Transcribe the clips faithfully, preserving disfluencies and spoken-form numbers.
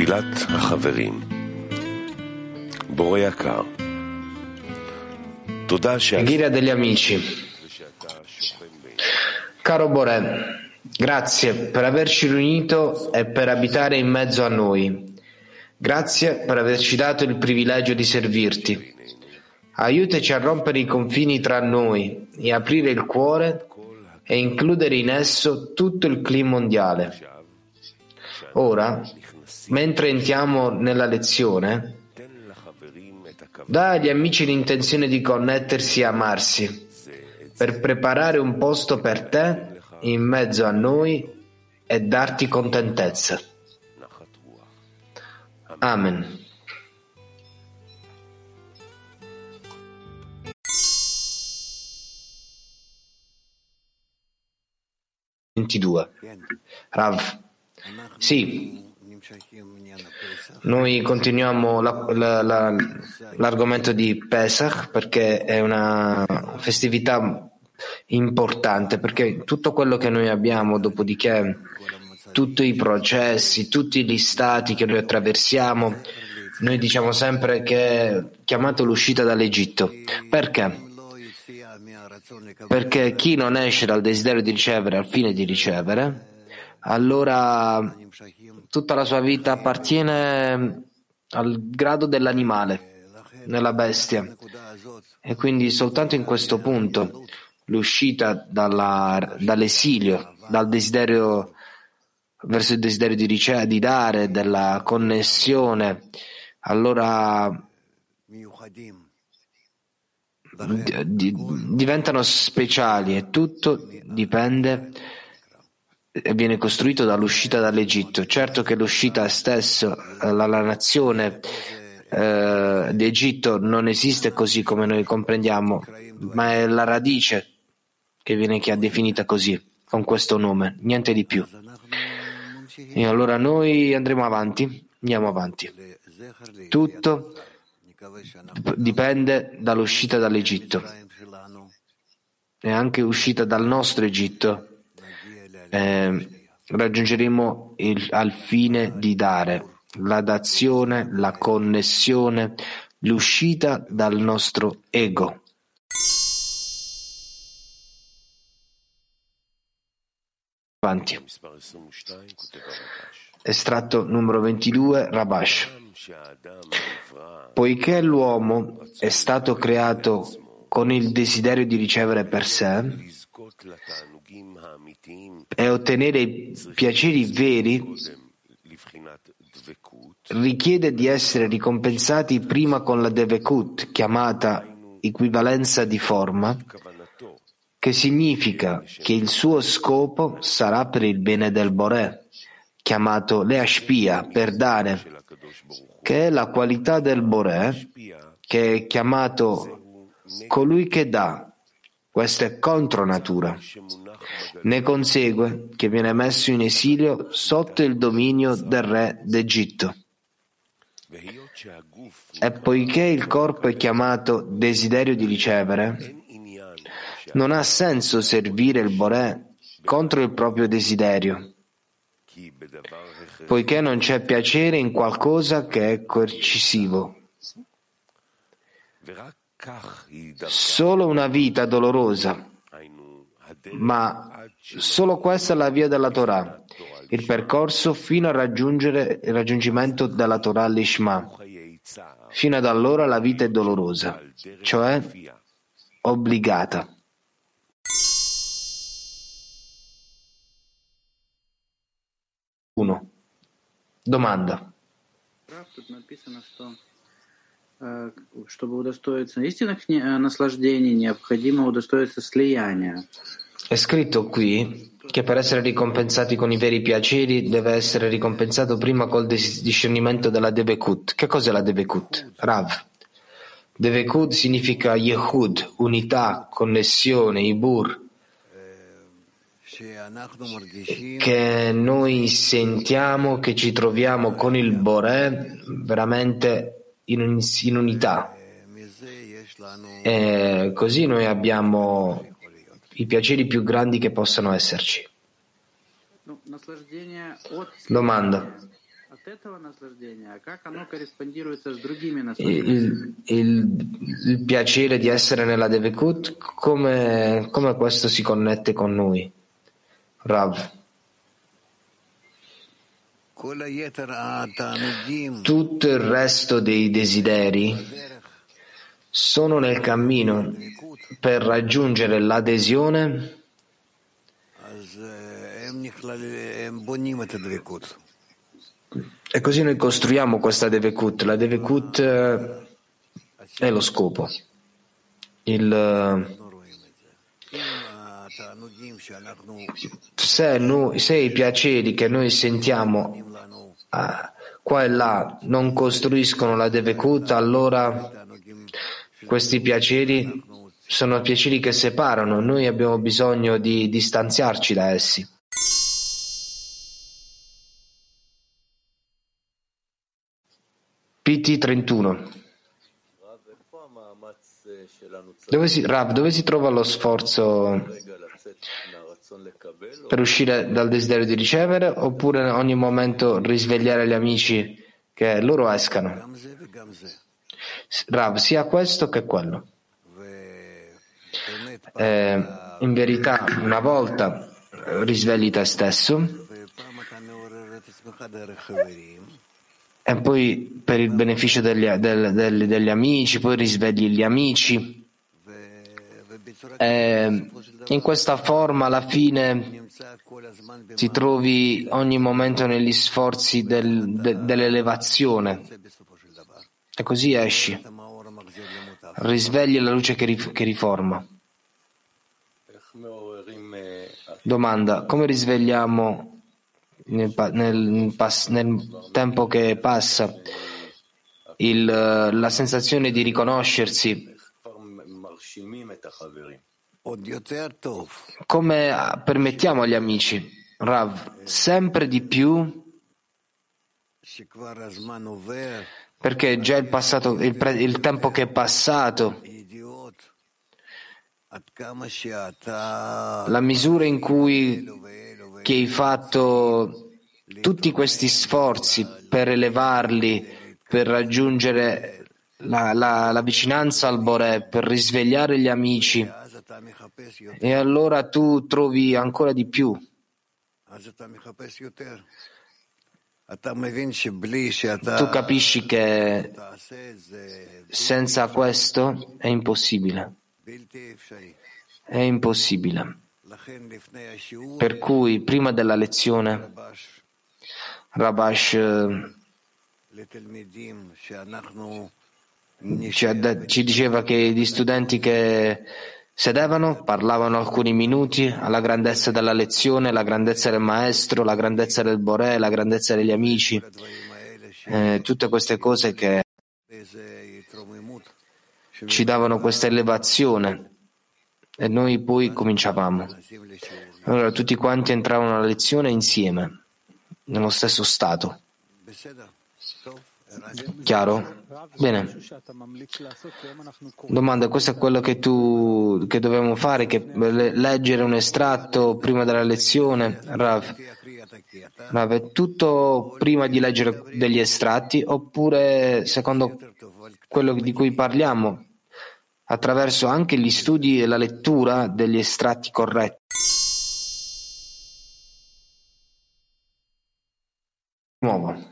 תפילת החברים. בורא יקר, תודה Preghiera degli amici. Caro Boré, grazie per averci riunito e per abitare in mezzo a noi. Grazie per averci dato il privilegio di servirti. Aiutaci a rompere i confini tra noi e aprire il cuore e includere in esso tutto il clima mondiale. Ora, mentre entriamo nella lezione, dà agli amici l'intenzione di connettersi e amarsi, per preparare un posto per te in mezzo a noi e darti contentezza. Amen. ventidue. Rav. Sì. Noi continuiamo la, la, la, l'argomento di Pesach perché è una festività importante, perché tutto quello che noi abbiamo, dopodiché tutti i processi, tutti gli stati che noi attraversiamo, noi diciamo sempre che è chiamato l'uscita dall'Egitto. Perché? Perché chi non esce dal desiderio di ricevere al fine di ricevere, allora tutta la sua vita appartiene al grado dell'animale, nella bestia. E quindi soltanto in questo punto l'uscita dalla, dall'esilio, dal desiderio verso il desiderio di ricevere, di dare, della connessione, allora di, diventano speciali e tutto dipende e viene costruito dall'uscita dall'Egitto. Certo che l'uscita stesso, la, la nazione eh, di Egitto non esiste così come noi comprendiamo, ma è la radice che viene che è definita così, con questo nome, niente di più. E allora noi andremo avanti, andiamo avanti. Tutto dipende dall'uscita dall'Egitto e anche uscita dal nostro Egitto. Eh, raggiungeremo il, al fine di dare la dazione, la connessione, l'uscita dal nostro ego. Avanti. Estratto numero ventidue, Rabash. Poiché l'uomo è stato creato con il desiderio di ricevere per sé e ottenere i piaceri veri, richiede di essere ricompensati prima con la devekut, chiamata equivalenza di forma, che significa che il suo scopo sarà per il bene del Boré, chiamato leashpia, per dare, che è la qualità del Boré, che è chiamato colui che dà. Questa è contro natura. Ne consegue che viene messo in esilio sotto il dominio del re d'Egitto. E poiché il corpo è chiamato desiderio di ricevere, non ha senso servire il Boré contro il proprio desiderio, poiché non c'è piacere in qualcosa che è coercitivo. Solo una vita dolorosa, ma solo questa è la via della Torah, il percorso fino a raggiungere il raggiungimento della Torah Lishma. Fino ad allora la vita è dolorosa, cioè obbligata. uno. Domanda. Чтобы удостоиться истинных наслаждений, необходимо удостоиться слияния. È scritto qui che per essere ricompensati con i veri piaceri deve essere ricompensato prima col discernimento della devekut. Che cos'è la devekut? Rav. Devekut significa yehud, unità, connessione, ibur, che noi sentiamo che ci troviamo con il Boré veramente in, in unità, e così noi abbiamo i piaceri più grandi che possano esserci. Domanda. il, il, il piacere di essere nella Devekut, come, come questo si connette con noi? Rav. Tutto il resto dei desideri sono nel cammino per raggiungere l'adesione e così noi costruiamo questa Devekut. La Devekut è lo scopo. Il, se, noi, se i piaceri che noi sentiamo ah, qua e là non costruiscono la Devekut, allora questi piaceri sono piaceri che separano. Noi abbiamo bisogno di distanziarci da essi. P T trentuno. Dove si, Rav, dove si trova lo sforzo per uscire dal desiderio di ricevere, oppure in ogni momento risvegliare gli amici che loro escano? Rav, sia questo che quello. Eh, in verità, una volta risvegli te stesso e poi per il beneficio degli, del, del, degli amici, poi risvegli gli amici. E in questa forma alla fine ti trovi ogni momento negli sforzi del, de, dell'elevazione e così esci, risvegli la luce che, rif, che riforma. Domanda: come risvegliamo nel, nel, nel tempo che passa il, la sensazione di riconoscersi? Come permettiamo agli amici, Rav, sempre di più, perché già il passato, il, pre, il tempo che è passato, la misura in cui che hai fatto tutti questi sforzi per elevarli, per raggiungere La, la, la vicinanza al Boré, per risvegliare gli amici, e allora tu trovi ancora di più. Tu capisci che senza questo è impossibile. È impossibile. Per cui prima della lezione Rabash Ci, ci diceva che gli studenti che sedevano parlavano alcuni minuti alla grandezza della lezione, la grandezza del maestro, la grandezza del Boré, la grandezza degli amici, eh, tutte queste cose che ci davano questa elevazione, e noi poi cominciavamo. Allora tutti quanti entravano alla lezione insieme, nello stesso stato. Chiaro? Bene. Domanda: questo è quello che tu che dobbiamo fare, che leggere un estratto prima della lezione? Rav, Rav, è tutto prima di leggere degli estratti, oppure secondo quello di cui parliamo, attraverso anche gli studi e la lettura degli estratti corretti? Nuovo.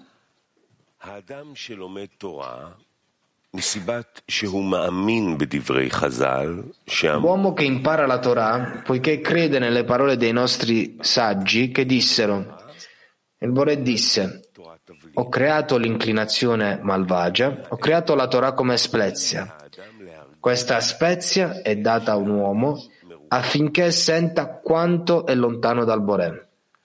L'uomo che impara la Torah, poiché crede nelle parole dei nostri saggi che dissero, il Boré disse: ho creato l'inclinazione malvagia, ho creato la Torah come spezia. Questa spezia è data a un uomo affinché senta quanto è lontano dal Boré.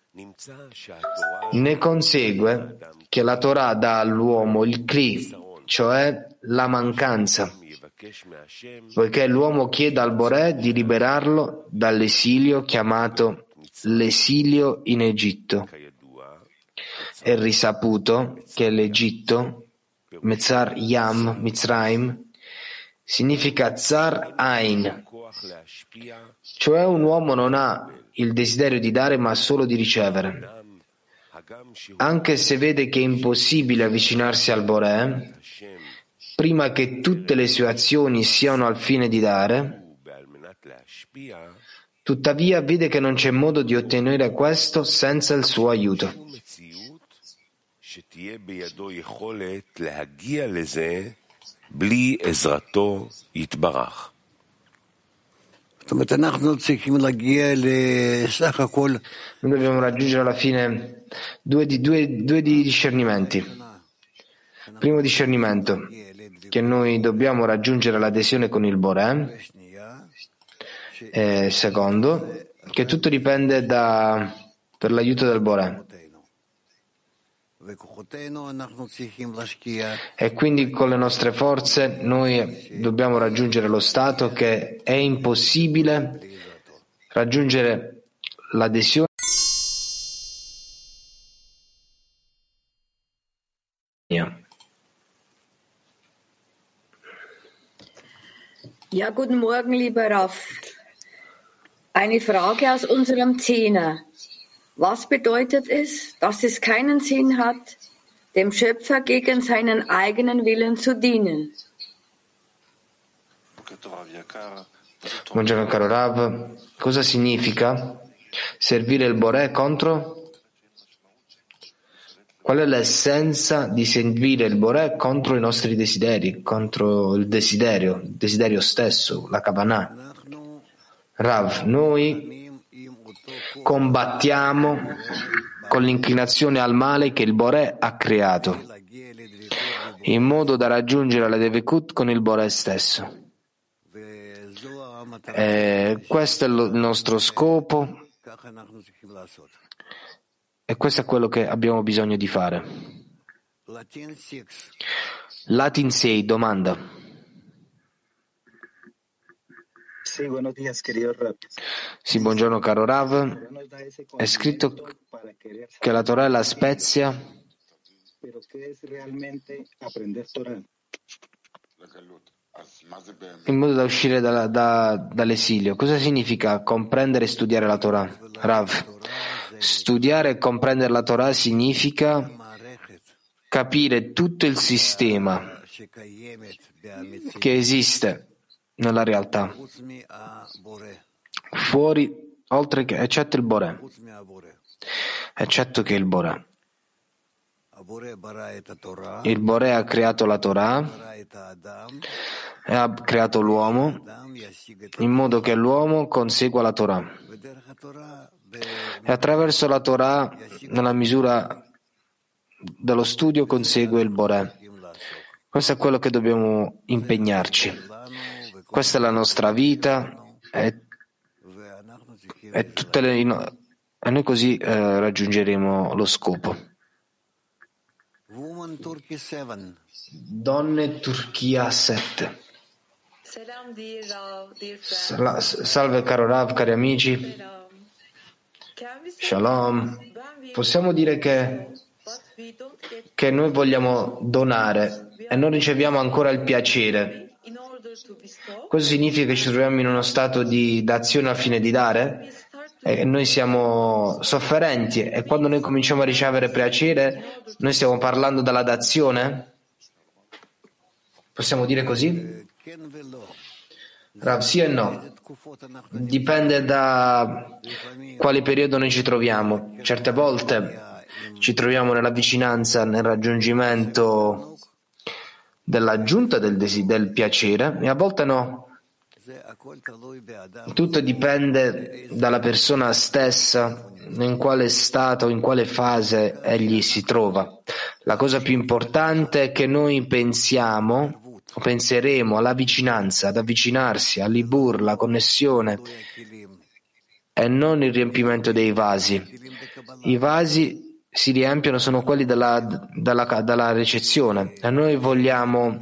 Ne consegue che la Torah dà all'uomo il kli, cioè la mancanza, poiché l'uomo chiede al Boré di liberarlo dall'esilio chiamato l'esilio in Egitto. È risaputo che l'Egitto, Metzar Yam, Mitzrayim, significa Tsar Ain, cioè un uomo non ha il desiderio di dare ma solo di ricevere. anche se vede che è impossibile avvicinarsi al Boré, prima che tutte le sue azioni siano al fine di dare, tuttavia vede che non c'è modo di ottenere questo senza il suo aiuto. Noi dobbiamo raggiungere alla fine due, di, due, due di discernimenti. Primo discernimento, che noi dobbiamo raggiungere l'adesione con il Boré. E secondo, che tutto dipende da, per l'aiuto del Boré. E quindi con le nostre forze noi dobbiamo raggiungere lo stato che è impossibile raggiungere l'adesione. Ja, guten Morgen, lieber Raf. Eine Frage aus unserem Zehner. Was bedeutet es, dass es keinen Sinn hat, dem Schöpfer gegen seinen eigenen Willen zu dienen? Buongiorno caro Rav, cosa significa servire il Boré contro? Qual è l'essenza di servire il Boré contro i nostri desideri, contro il desiderio, il desiderio stesso, la Kavanah? Rav, noi combattiamo con l'inclinazione al male che il Boré ha creato, in modo da raggiungere la Devekut con il Boré stesso. E questo è il nostro scopo e questo è quello che abbiamo bisogno di fare. Latin sei, domanda. Sì, buenos días, querido Rav. Sì, buongiorno caro Rav. È scritto che la Torah è la spezia. Pero ¿qué es realmente aprender Torah? In modo da uscire da, da, dall'esilio. Cosa significa comprendere e studiare la Torah? Rav, studiare e comprendere la Torah significa capire tutto il sistema che esiste nella realtà, fuori, oltre che, eccetto il Boré, eccetto che il Boré. Il Boré ha creato la Torah e ha creato l'uomo in modo che l'uomo consegua la Torah. E attraverso la Torah, nella misura dello studio, consegue il Boré. Questo è quello che dobbiamo impegnarci. Questa è la nostra vita e, e, tutte le, e noi così eh, raggiungeremo lo scopo. Donne Turchia sette. Salve caro Rav, cari amici. Shalom. Possiamo dire che, che noi vogliamo donare e non riceviamo ancora il piacere. Questo significa che ci troviamo in uno stato di d'azione al fine di dare e noi siamo sofferenti e quando noi cominciamo a ricevere piacere noi stiamo parlando della dazione? Possiamo dire così? Rav, sì e no. Dipende da quale periodo noi ci troviamo. Certe volte ci troviamo nella vicinanza, nel raggiungimento dell'aggiunta del, desi- del piacere e a volte no. Tutto dipende dalla persona stessa, in quale stato, in quale fase egli si trova. La cosa più importante è che noi pensiamo o penseremo alla vicinanza, ad avvicinarsi, all'ibur, la connessione e non il riempimento dei vasi. I vasi si riempiono, sono quelli della, della, della ricezione e noi vogliamo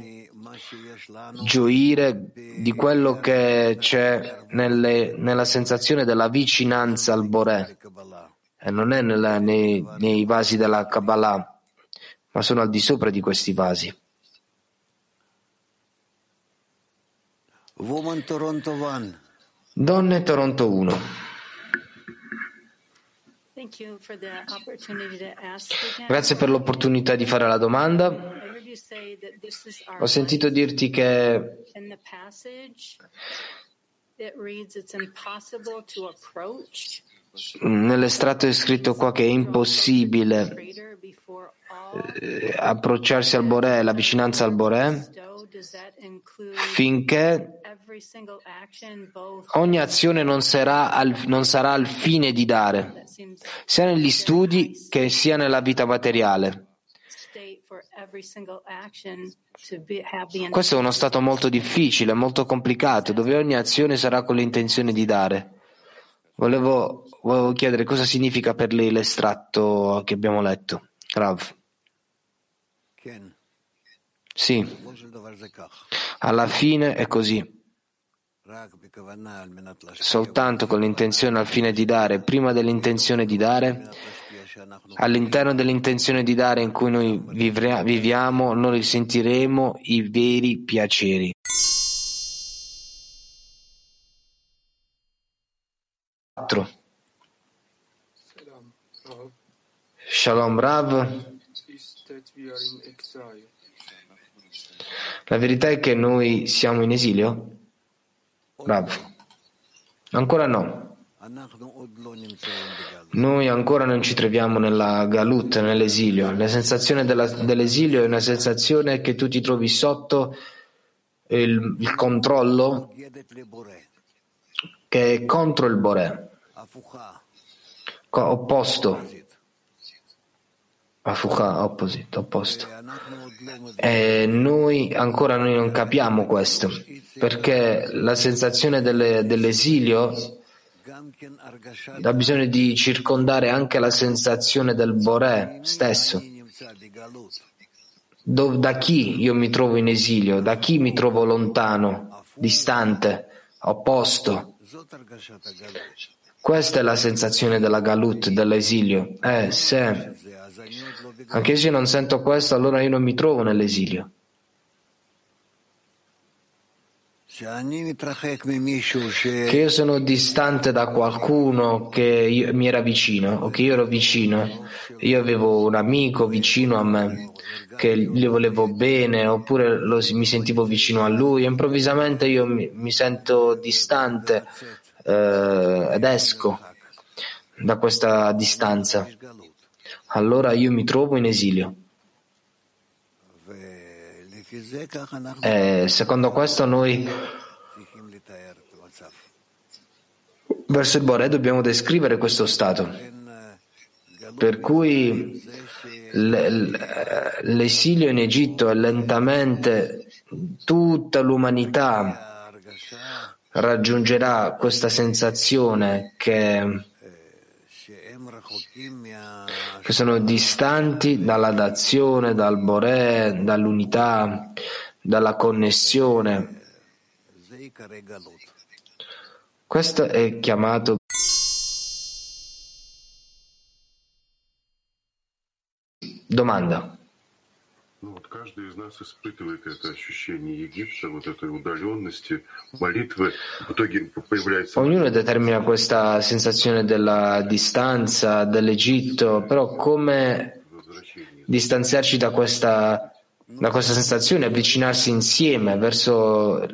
gioire di quello che c'è nelle, nella sensazione della vicinanza al Boré e non è nella, nei, nei vasi della Kabbalah, ma sono al di sopra di questi vasi. Donne Toronto uno. Grazie per l'opportunità di fare la domanda. Ho sentito dirti che nell'estratto è scritto qua che è impossibile eh, approcciarsi al Boré, la vicinanza al Boré, finché ogni azione non sarà, al, non sarà al fine di dare, sia negli studi che sia nella vita materiale. Questo è uno stato molto difficile, molto complicato, dove ogni azione sarà con l'intenzione di dare. Volevo, volevo chiedere cosa significa per lei l'estratto che abbiamo letto. Rav. Sì, alla fine è così. Soltanto con l'intenzione al fine di dare, prima dell'intenzione di dare, all'interno dell'intenzione di dare in cui noi vivre- viviamo, noi sentiremo i veri piaceri. quattro. Shalom Rav. La verità è che noi siamo in esilio? Rav. Ancora no. Noi ancora non ci troviamo nella galut, nell'esilio. La sensazione della, dell'esilio è una sensazione che tu ti trovi sotto il, il controllo che è contro il Boré, opposto. Afucha, opposite, opposto. E noi ancora noi non capiamo questo, perché la sensazione delle, dell'esilio ha bisogno di circondare anche la sensazione del Boré stesso. Do, da chi io mi trovo in esilio? Da chi mi trovo lontano, distante, opposto? Questa è la sensazione della galut, dell'esilio. Eh, se anche se io non sento questo, allora io non mi trovo nell'esilio. Che io sono distante da qualcuno che io, mi era vicino, o che io ero vicino, io avevo un amico vicino a me, che gli volevo bene, oppure lo, mi sentivo vicino a lui, e improvvisamente io mi, mi sento distante eh, ed esco da questa distanza. Allora io mi trovo in esilio. E secondo questo noi verso il Boré dobbiamo descrivere questo stato. Per cui l'esilio in Egitto è lentamente tutta l'umanità raggiungerà questa sensazione che che sono distanti dalla dazione, dal Boré, dall'unità, dalla connessione. Questo è chiamato domanda. Каждый из нас испытывает это ощущение Египта, вот этой удаленности, молитвы. В итоге появляется... Ognuno determina questa sensazione della distanza dell'Egitto, però come distanziarci da questa, da questa sensazione, avvicinarsi insieme verso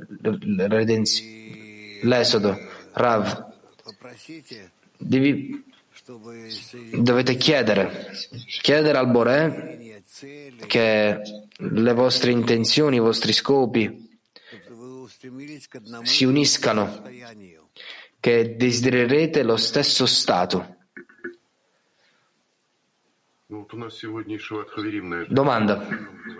l'esodo? Rav, devi, dovete chiedere, chiedere al Boré che le vostre intenzioni, i vostri scopi si uniscano, che desidererete lo stesso stato. Domanda.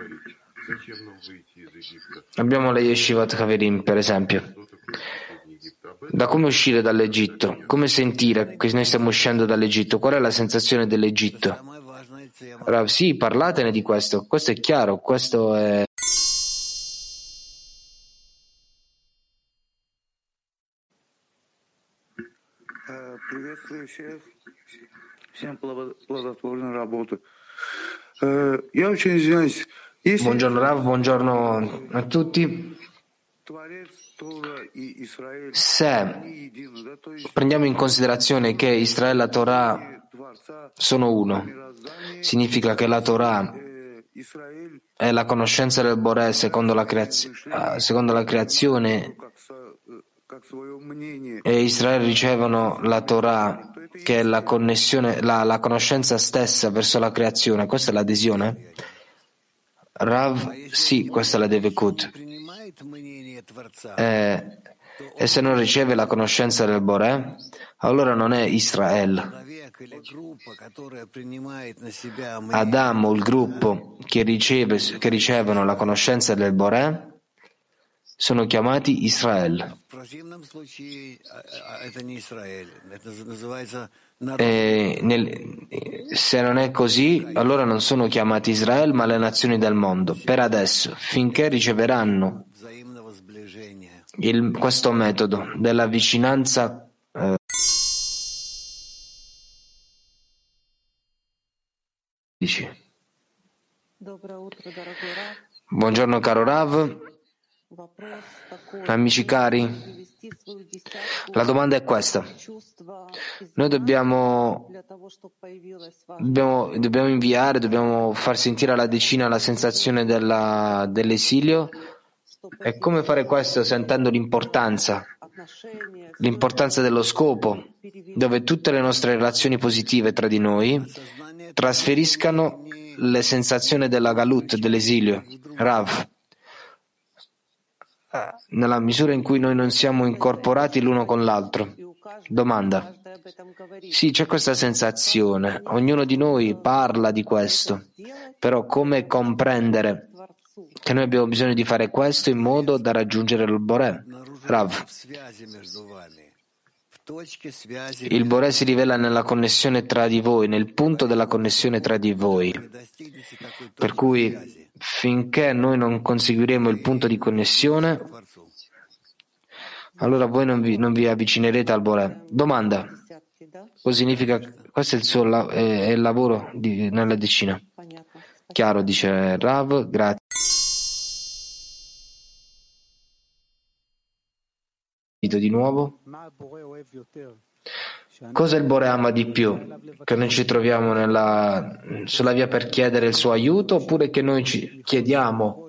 Abbiamo le Yeshivat Haverim, per esempio. Da come uscire dall'Egitto? Come sentire che noi stiamo uscendo dall'Egitto? Qual è la sensazione dell'Egitto? Rav, sì, parlatene di questo. Questo è chiaro, questo è... Приветствую всех. Всем плодотворную работу. Я очень извиняюсь. Buongiorno Rav, buongiorno a tutti. Творец Se prendiamo in considerazione che Israele e la Torah sono uno, significa che la Torah è la conoscenza del Boré secondo la, creaz- secondo la creazione e Israele ricevono la Torah che è la connessione, la, la conoscenza stessa verso la creazione. Questa è l'adesione? Rav, sì, questa è la Devekut. Eh, e se non riceve la conoscenza del Boré, allora non è Israele. Adamo, il gruppo che, riceve, che ricevono la conoscenza del Boré, sono chiamati Israele. E nel, se non è così, allora non sono chiamati Israele, ma le nazioni del mondo. Per adesso, finché riceveranno il, questo metodo della vicinanza eh, buongiorno caro Rav, amici cari, la domanda è questa: noi dobbiamo, dobbiamo, dobbiamo inviare, dobbiamo far sentire alla decina la sensazione della, dell'esilio, e come fare questo sentendo l'importanza l'importanza dello scopo, dove tutte le nostre relazioni positive tra di noi trasferiscano le sensazioni della galut, dell'esilio. Rav, nella misura in cui noi non siamo incorporati l'uno con l'altro. Domanda. Sì, c'è questa sensazione, ognuno di noi parla di questo, però come comprendere che noi abbiamo bisogno di fare questo in modo da raggiungere il Boré? Rav, il Boré si rivela nella connessione tra di voi, nel punto della connessione tra di voi, per cui finché noi non conseguiremo il punto di connessione, allora voi non vi, non vi avvicinerete al Boré. Domanda. Cosa significa? Questo è il suo è, è il lavoro di, nella decina. Chiaro, dice Rav, grazie. Di nuovo. Cosa il Boré ama di più? Che noi ci troviamo nella, sulla via per chiedere il suo aiuto, oppure che noi ci chiediamo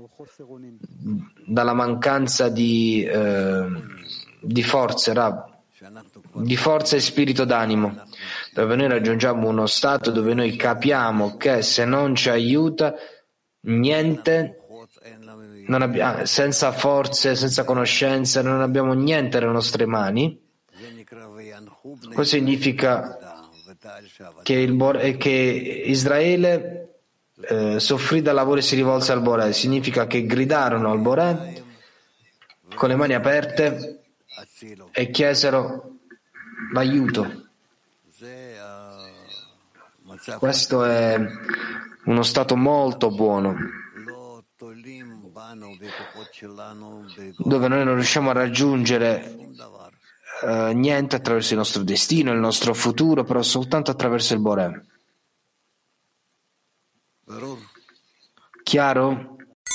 dalla mancanza di, eh, di forze, Rav, di forza e spirito d'animo, dove noi raggiungiamo uno stato dove noi capiamo che se non ci aiuta niente, non abbiamo, senza forze, senza conoscenza, non abbiamo niente nelle nostre mani. Questo significa che, il, che Israele eh, soffrì dal lavoro e si rivolse al Boré. Significa che gridarono al Boré con le mani aperte e chiesero l'aiuto. Questo è uno stato molto buono, dove noi non riusciamo a raggiungere uh, niente attraverso il nostro destino, il nostro futuro, però soltanto attraverso il Boré. Chiaro?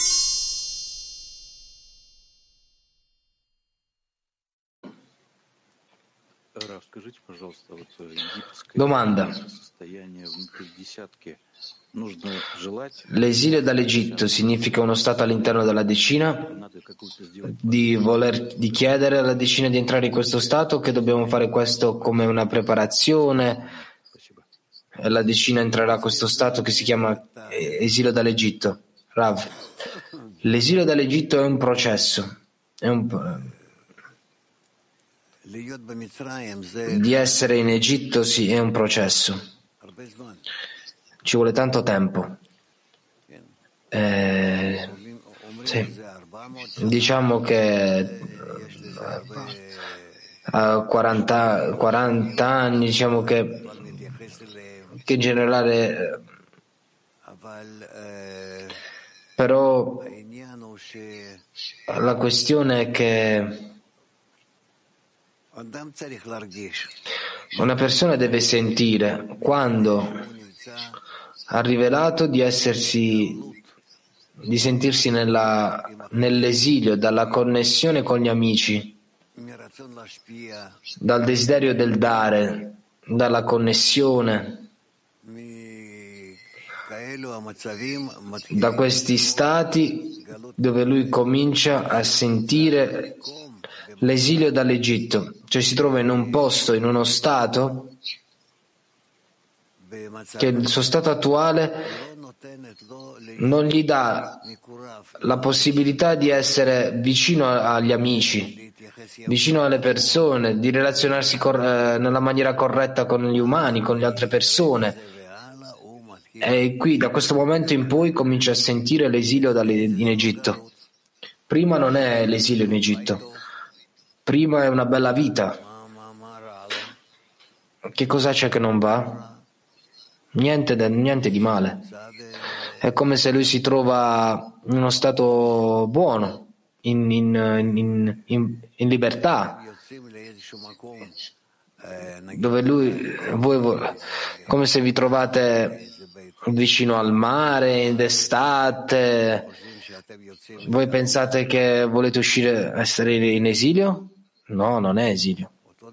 Domanda. L'esilio dall'Egitto significa uno stato all'interno della decina, di voler di chiedere alla decina di entrare in questo stato, o che dobbiamo fare questo come una preparazione e la decina entrerà a questo stato che si chiama esilio dall'Egitto? Rav, l'esilio dall'Egitto è un processo, è un di essere in Egitto, sì, è un processo. Ci vuole tanto tempo. Eh, sì. Diciamo che a quaranta, quaranta anni, diciamo che, che in generale, però la questione è che una persona deve sentire quando ha rivelato di essersi di sentirsi nella, nell'esilio, dalla connessione con gli amici, dal desiderio del dare, dalla connessione, da questi stati dove lui comincia a sentire l'esilio dall'Egitto, cioè si trova in un posto, in uno stato che il suo stato attuale non gli dà la possibilità di essere vicino agli amici, vicino alle persone, di relazionarsi cor- eh, nella maniera corretta con gli umani, con le altre persone. E qui, da questo momento in poi, comincia a sentire l'esilio dalle- in Egitto. Prima non è l'esilio in Egitto, prima è una bella vita. Che cosa c'è che non va? Niente, de- niente di male. È come se lui si trova in uno stato buono, in, in, in, in, in libertà, dove lui, voi, voi, come se vi trovate vicino al mare d'estate. Voi pensate che volete uscire, essere in esilio? No, non è esilio.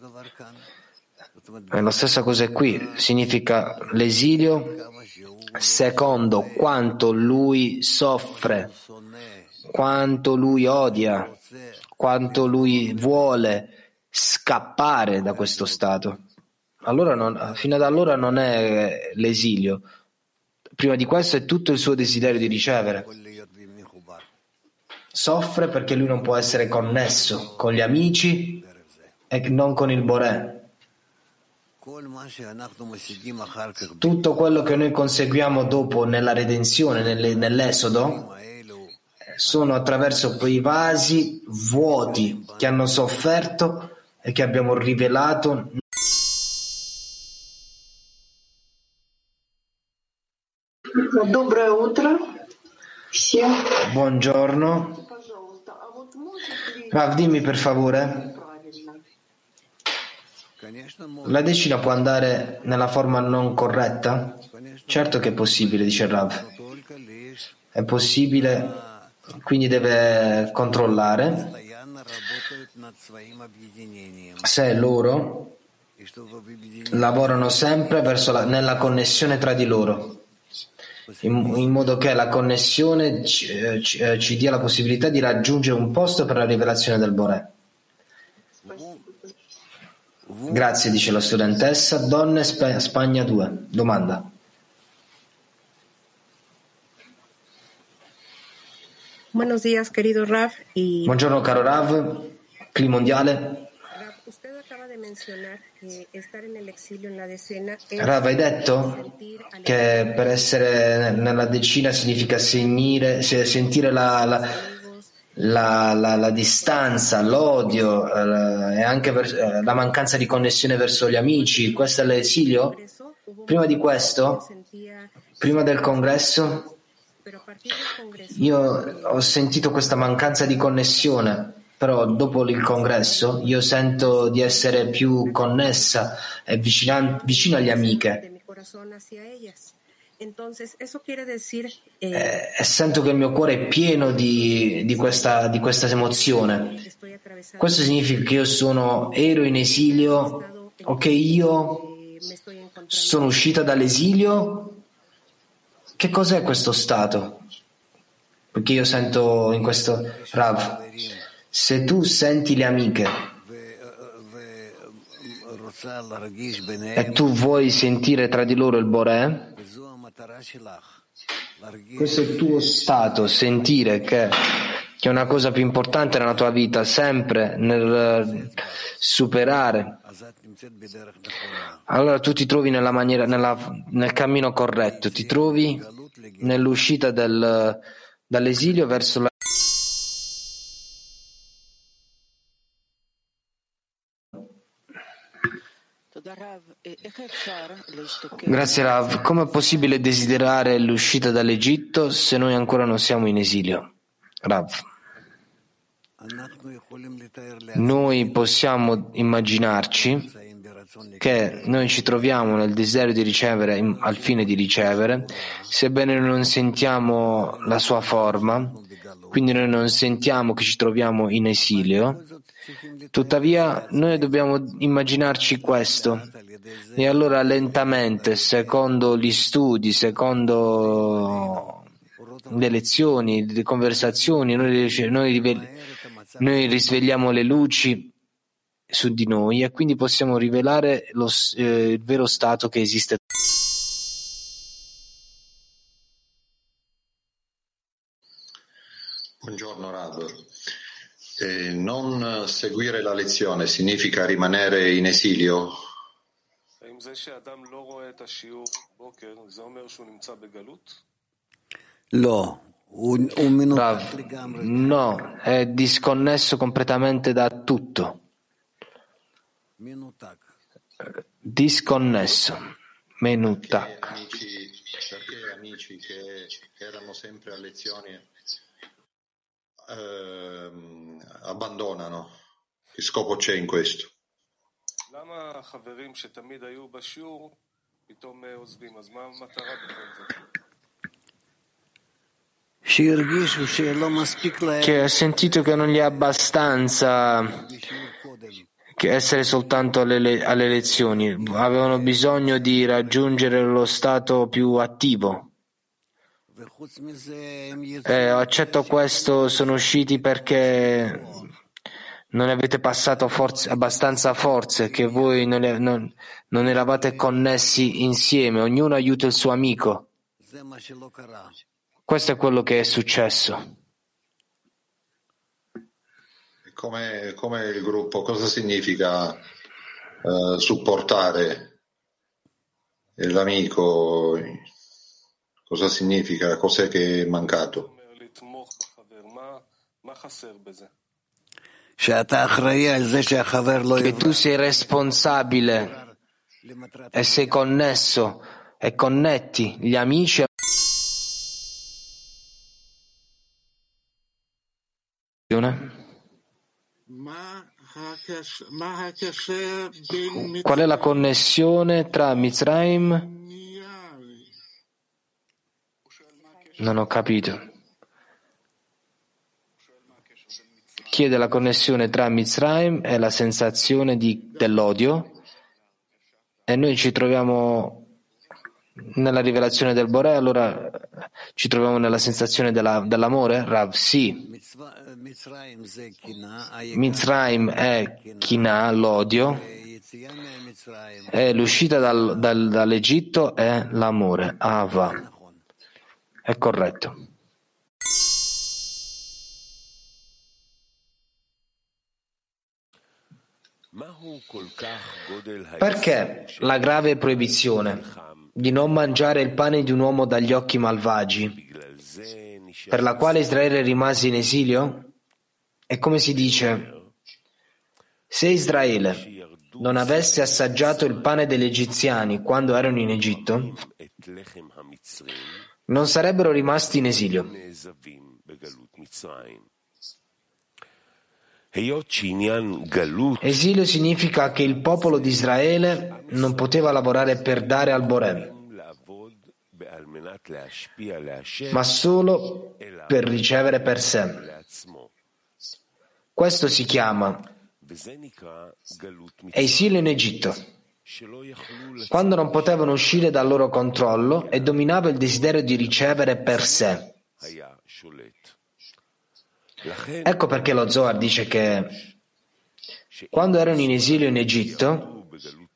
È la stessa cosa qui, significa l'esilio secondo quanto lui soffre, quanto lui odia, quanto lui vuole scappare da questo stato. Allora non, fino ad allora non è l'esilio. Prima di questo è tutto il suo desiderio di ricevere. Soffre perché lui non può essere connesso con gli amici e non con il Boré. Tutto quello che noi conseguiamo dopo nella redenzione, nell'esodo, sono attraverso quei vasi vuoti che hanno sofferto e che abbiamo rivelato. Доброе утро всем. Buongiorno. Rav, dimmi per favore, la decina può andare nella forma non corretta? Certo che è possibile, dice Rav. È possibile, quindi deve controllare se loro lavorano sempre verso la, nella connessione tra di loro, in, in modo che la connessione ci, ci, ci dia la possibilità di raggiungere un posto per la rivelazione del Boré. Grazie, dice la studentessa. Donne, Sp- Spagna due. Domanda. Buenos días, querido Rav. Y... Buongiorno, caro Rav. Clima mondiale. Rav, usted acaba de mencionar que estar en el exilio en la decena es Rav, hai detto che per essere nella decina significa sentire, sentire la, la, la, la, la distanza, l'odio eh, e anche ver, la mancanza di connessione verso gli amici. Questo è l'esilio? Prima di questo, prima del congresso, io ho sentito questa mancanza di connessione, però dopo il congresso io sento di essere più connessa e vicina, vicino agli amiche. E, e sento che il mio cuore è pieno di, di, questa, di questa emozione. Questo significa che io sono, ero in esilio o che io sono uscita dall'esilio. Che cos'è questo stato? Perché io sento in questo Rav, se tu senti le amiche e tu vuoi sentire tra di loro il Boré, questo è il tuo stato, sentire che, che è una cosa più importante nella tua vita, sempre nel superare. Allora tu ti trovi nella maniera, nella, nel cammino corretto, ti trovi nell'uscita del, dall'esilio verso la. Grazie Rav. Come è possibile desiderare l'uscita dall'Egitto se noi ancora non siamo in esilio? Rav. Noi possiamo immaginarci che noi ci troviamo nel desiderio di ricevere in, al fine di ricevere, sebbene non sentiamo la sua forma, quindi noi non sentiamo che ci troviamo in esilio, tuttavia noi dobbiamo immaginarci questo e allora lentamente, secondo gli studi, secondo le lezioni, le conversazioni, noi, noi, noi risvegliamo le luci su di noi e quindi possiamo rivelare lo, eh, il vero stato che esiste. Buongiorno Rav. Eh, non seguire la lezione significa rimanere in esilio? Rav, no, è disconnesso completamente da tutto. Disconnesso. Menutak. Perché amici, perché amici che erano sempre a lezioni eh, abbandonano? Che scopo c'è in questo? Che ha sentito che non gli è abbastanza che essere soltanto alle, alle lezioni, avevano bisogno di raggiungere lo stato più attivo. Eh, accetto questo, sono usciti perché non avete passato forze, abbastanza forze, che voi non, non, non eravate connessi insieme, ognuno aiuta il suo amico. Questo è quello che è successo. Come, come il gruppo, cosa significa uh, supportare l'amico? Cosa significa? Cos'è che è mancato? Che tu sei responsabile e sei connesso e connetti gli amici. Qual è la connessione tra Mitzrayim? Non ho capito. Chiede la connessione tra Mitzrayim e la sensazione di, dell'odio, e noi ci troviamo nella rivelazione del Boré, allora ci troviamo nella sensazione della, dell'amore? Rav, sì. Mitzrayim è Kina, l'odio, e l'uscita dal, dal, dall'Egitto è l'amore, Ava. È corretto. Perché la grave proibizione di non mangiare il pane di un uomo dagli occhi malvagi, per la quale Israele rimase in esilio? E come si dice, se Israele non avesse assaggiato il pane degli egiziani quando erano in Egitto, non sarebbero rimasti in esilio. Esilio significa che il popolo di Israele non poteva lavorare per dare al Boré, ma solo per ricevere per sé. Questo si chiama esilio in Egitto, quando non potevano uscire dal loro controllo e dominava il desiderio di ricevere per sé. Ecco perché lo Zohar dice che quando erano in esilio in Egitto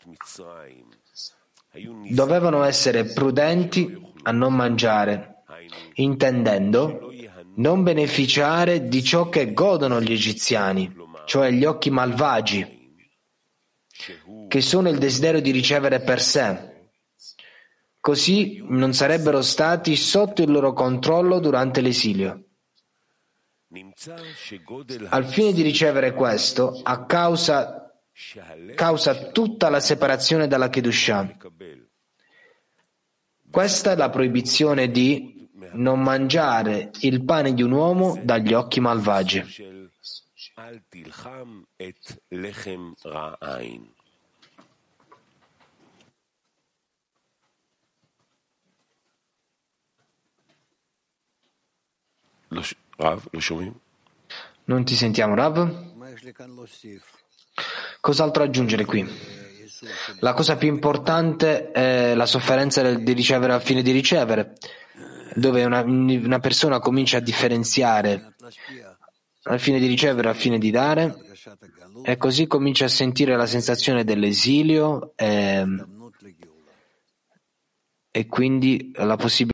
dovevano essere prudenti a non mangiare, intendendo non beneficiare di ciò che godono gli egiziani, cioè gli occhi malvagi, che sono il desiderio di ricevere per sé. Così non sarebbero stati sotto il loro controllo durante l'esilio. Al fine di ricevere questo, a causa, causa tutta la separazione dalla Kedushah. Questa è la proibizione di non mangiare il pane di un uomo dagli occhi malvagi. Rav, lo שומעים? Non ti sentiamo, Rav? Cos'altro aggiungere qui? La cosa più importante è la sofferenza del- di ricevere al fine di ricevere, dove una, una persona comincia a differenziare al fine di ricevere al fine di dare, e così comincia a sentire la sensazione dell'esilio e, e quindi la possibilità.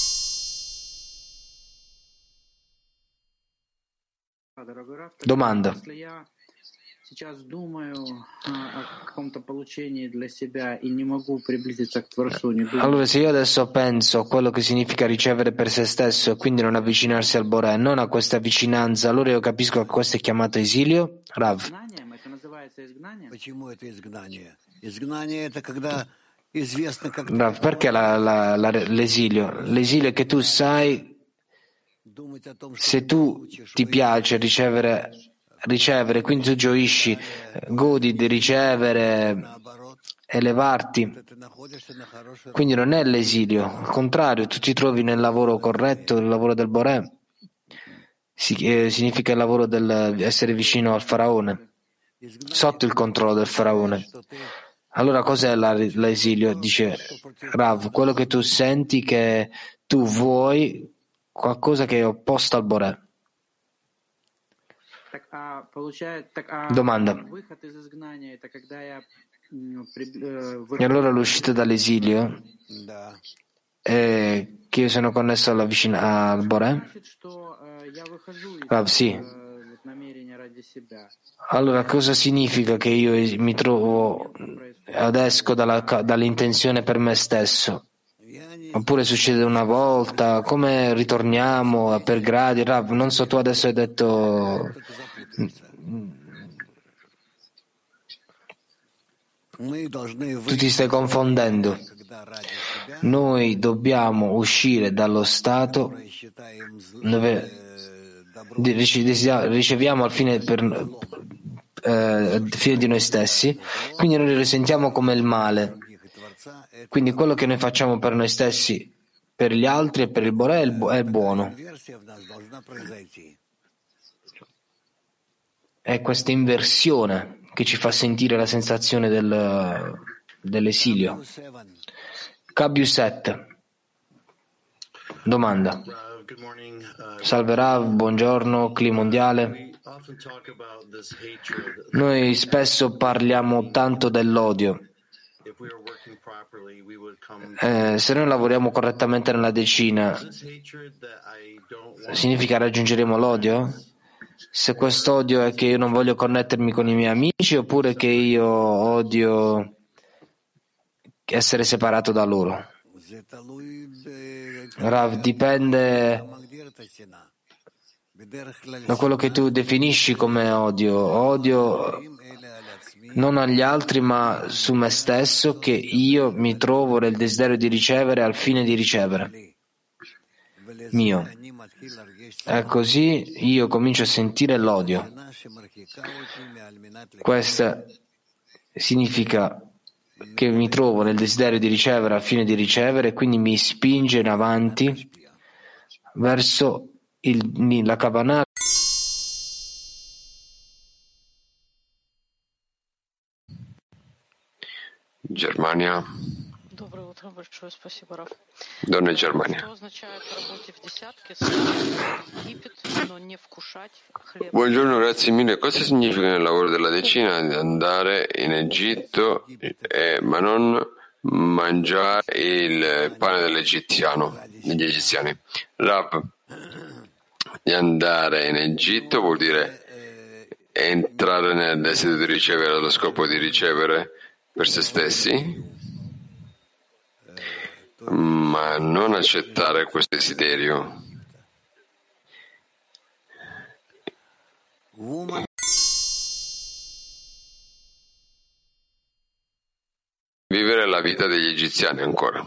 Domanda. Сейчас думаю о каком-то получении для себя и не могу приблизиться к Творцу, не думаю. Allora, se io adesso penso a quello che significa ricevere per se stesso e quindi non avvicinarsi al Boré, non a questa vicinanza, allora io capisco che questo è chiamato esilio? Rav. Знанием это называется изгнанием. Почему это изгнание? Изгнание это когда известно, как Rav, perché la- la- la- l'esilio? L'esilio è che tu sai, думать о том, что se tu ti piace ricevere, ricevere, quindi tu gioisci, godi di ricevere, elevarti, ты находишься на хорошей quindi non è l'esilio, al contrario, tu ti trovi nel lavoro corretto, il lavoro del Boré, si- eh, significa il lavoro del essere vicino al faraone, sotto il controllo del faraone. Allora cos'è la- l'esilio? Dice Rav, quello che tu senti che tu vuoi qualcosa che è opposto al Boré. Так, а получает, так, а Domanda. выход из изгнания это когда я м, при- э, E выхожу allora l'uscita dall'esilio Да. è che io sono connesso alla vicina, al Boré? значит, что э, я выхожу из Rav, sì. э, вот намерения ради себя. Allora cosa significa che io es- mi trovo ed esco dalla, ca- dall'intenzione per me stesso? Oppure succede una volta? Come ritorniamo per gradi? Rav, non so, tu adesso hai detto Мы должны tu ti stai confondendo. когда ради себя Noi dobbiamo uscire dallo stato считаем зл- dove э, добро di- rice- desia- riceviamo al fine, per, eh, al fine di noi stessi, quindi noi lo risentiamo come il male. других и Творца, это Quindi quello che noi facciamo per noi stessi, per gli altri e per il Boré è il, bu- è il buono. инверсия в нас должна произойти. È questa inversione che ci fa sentire la sensazione del, dell'esilio. K sette. Domanda. Salve Rav, buongiorno, clima mondiale. Noi spesso parliamo tanto dell'odio. Eh, se noi lavoriamo correttamente nella decina, significa raggiungeremo l'odio? Se quest'odio è che io non voglio connettermi con i miei amici, oppure che io odio essere separato da loro? זה תלוי ב- Rav, dipende אתה מגדיר את השנאה. בדרך כלל da quello che tu definisci come odio. Odio שנאים אלה על עצמי, non agli altri, ma su me stesso, che io mi trovo nel desiderio di ricevere al fine di ricevere. ולזה Mio. אני מתחיל להרגיש E così io comincio a sentire l'odio. שנאה שמרחיקה אותי מעל מנת Questo significa che mi trovo nel desiderio di ricevere al fine di ricevere, e quindi mi spinge in avanti verso il, la Kavanah. Germania. Доброе утро, большое спасибо, Раф. Donna Germania. Что означает работать в десятке, съесть Египет, но не вкушать хлеб? Buongiorno, grazie mille. Cosa significa nel lavoro della decina di andare in Egitto, eh, ma non mangiare il pane dell'egiziano, degli egiziani? Rav, di andare in Egitto vuol dire entrare nel desiderio di ricevere allo scopo di ricevere per se stessi, ma non accettare questo desiderio. woman Vivere la vita degli egiziani ancora.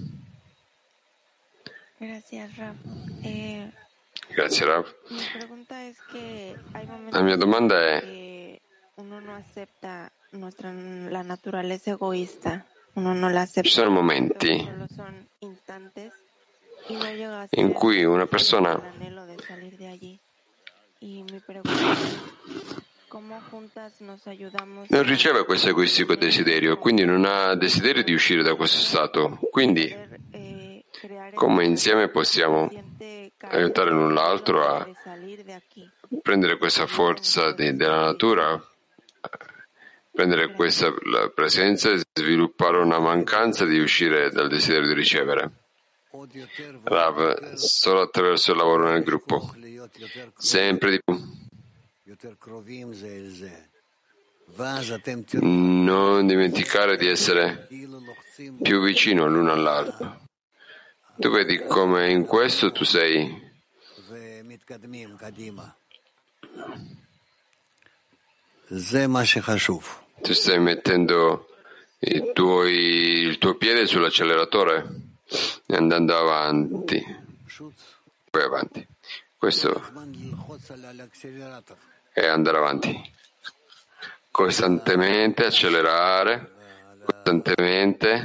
Gracias, Raf. Eh, Grazie Rav. mi pregunta es que hay momentos La mia domanda è: que uno no acepta nuestra, la naturaleza egoísta, uno no la acepta, ci sono momenti solo son instantes y no llega a in ser cui una persona el anhelo de salir de allí. Y mi pregunta es, ¿cómo juntas nos ayudamos? Non riceve questo egoistico desiderio, quindi non ha desiderio di uscire da questo stato. Quindi, come insieme possiamo aiutare l'un l'altro a prendere questa forza di, della natura, prendere questa la presenza e sviluppare una mancanza di uscire dal desiderio di ricevere. Rav, solo attraverso il lavoro nel gruppo, sempre di più. Non dimenticare di essere più vicino l'uno all'altro. Tu vedi come in questo tu sei tu stai mettendo i tuoi, il tuo piede sull'acceleratore e andando avanti, poi avanti. Questo è andare avanti, costantemente accelerare, costantemente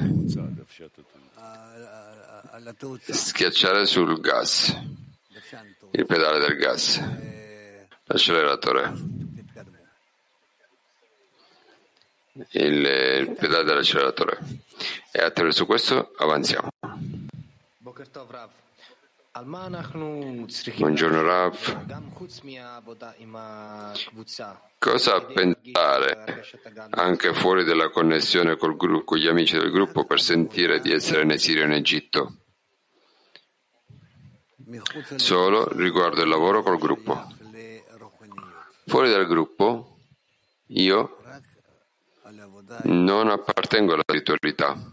schiacciare sul gas, il pedale del gas, l'acceleratore, il, il pedale dell'acceleratore, e attraverso questo avanziamo. Buongiorno Rav. Cosa pensare anche fuori della connessione col gruppo, con gli amici del gruppo, per sentire di essere in esilio in Egitto? Solo riguardo il lavoro col gruppo. Fuori dal gruppo, io non appartengo alla spiritualità.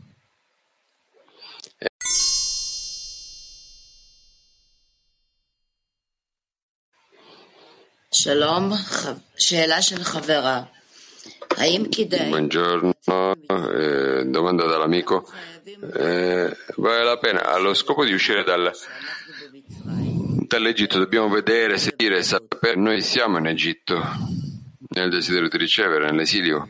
Buongiorno, eh, domanda dall'amico. Eh, vale la pena, allo scopo di uscire dal, dall'Egitto, dobbiamo vedere, sentire, sapere. Noi siamo in Egitto, nel desiderio di ricevere, nell'esilio.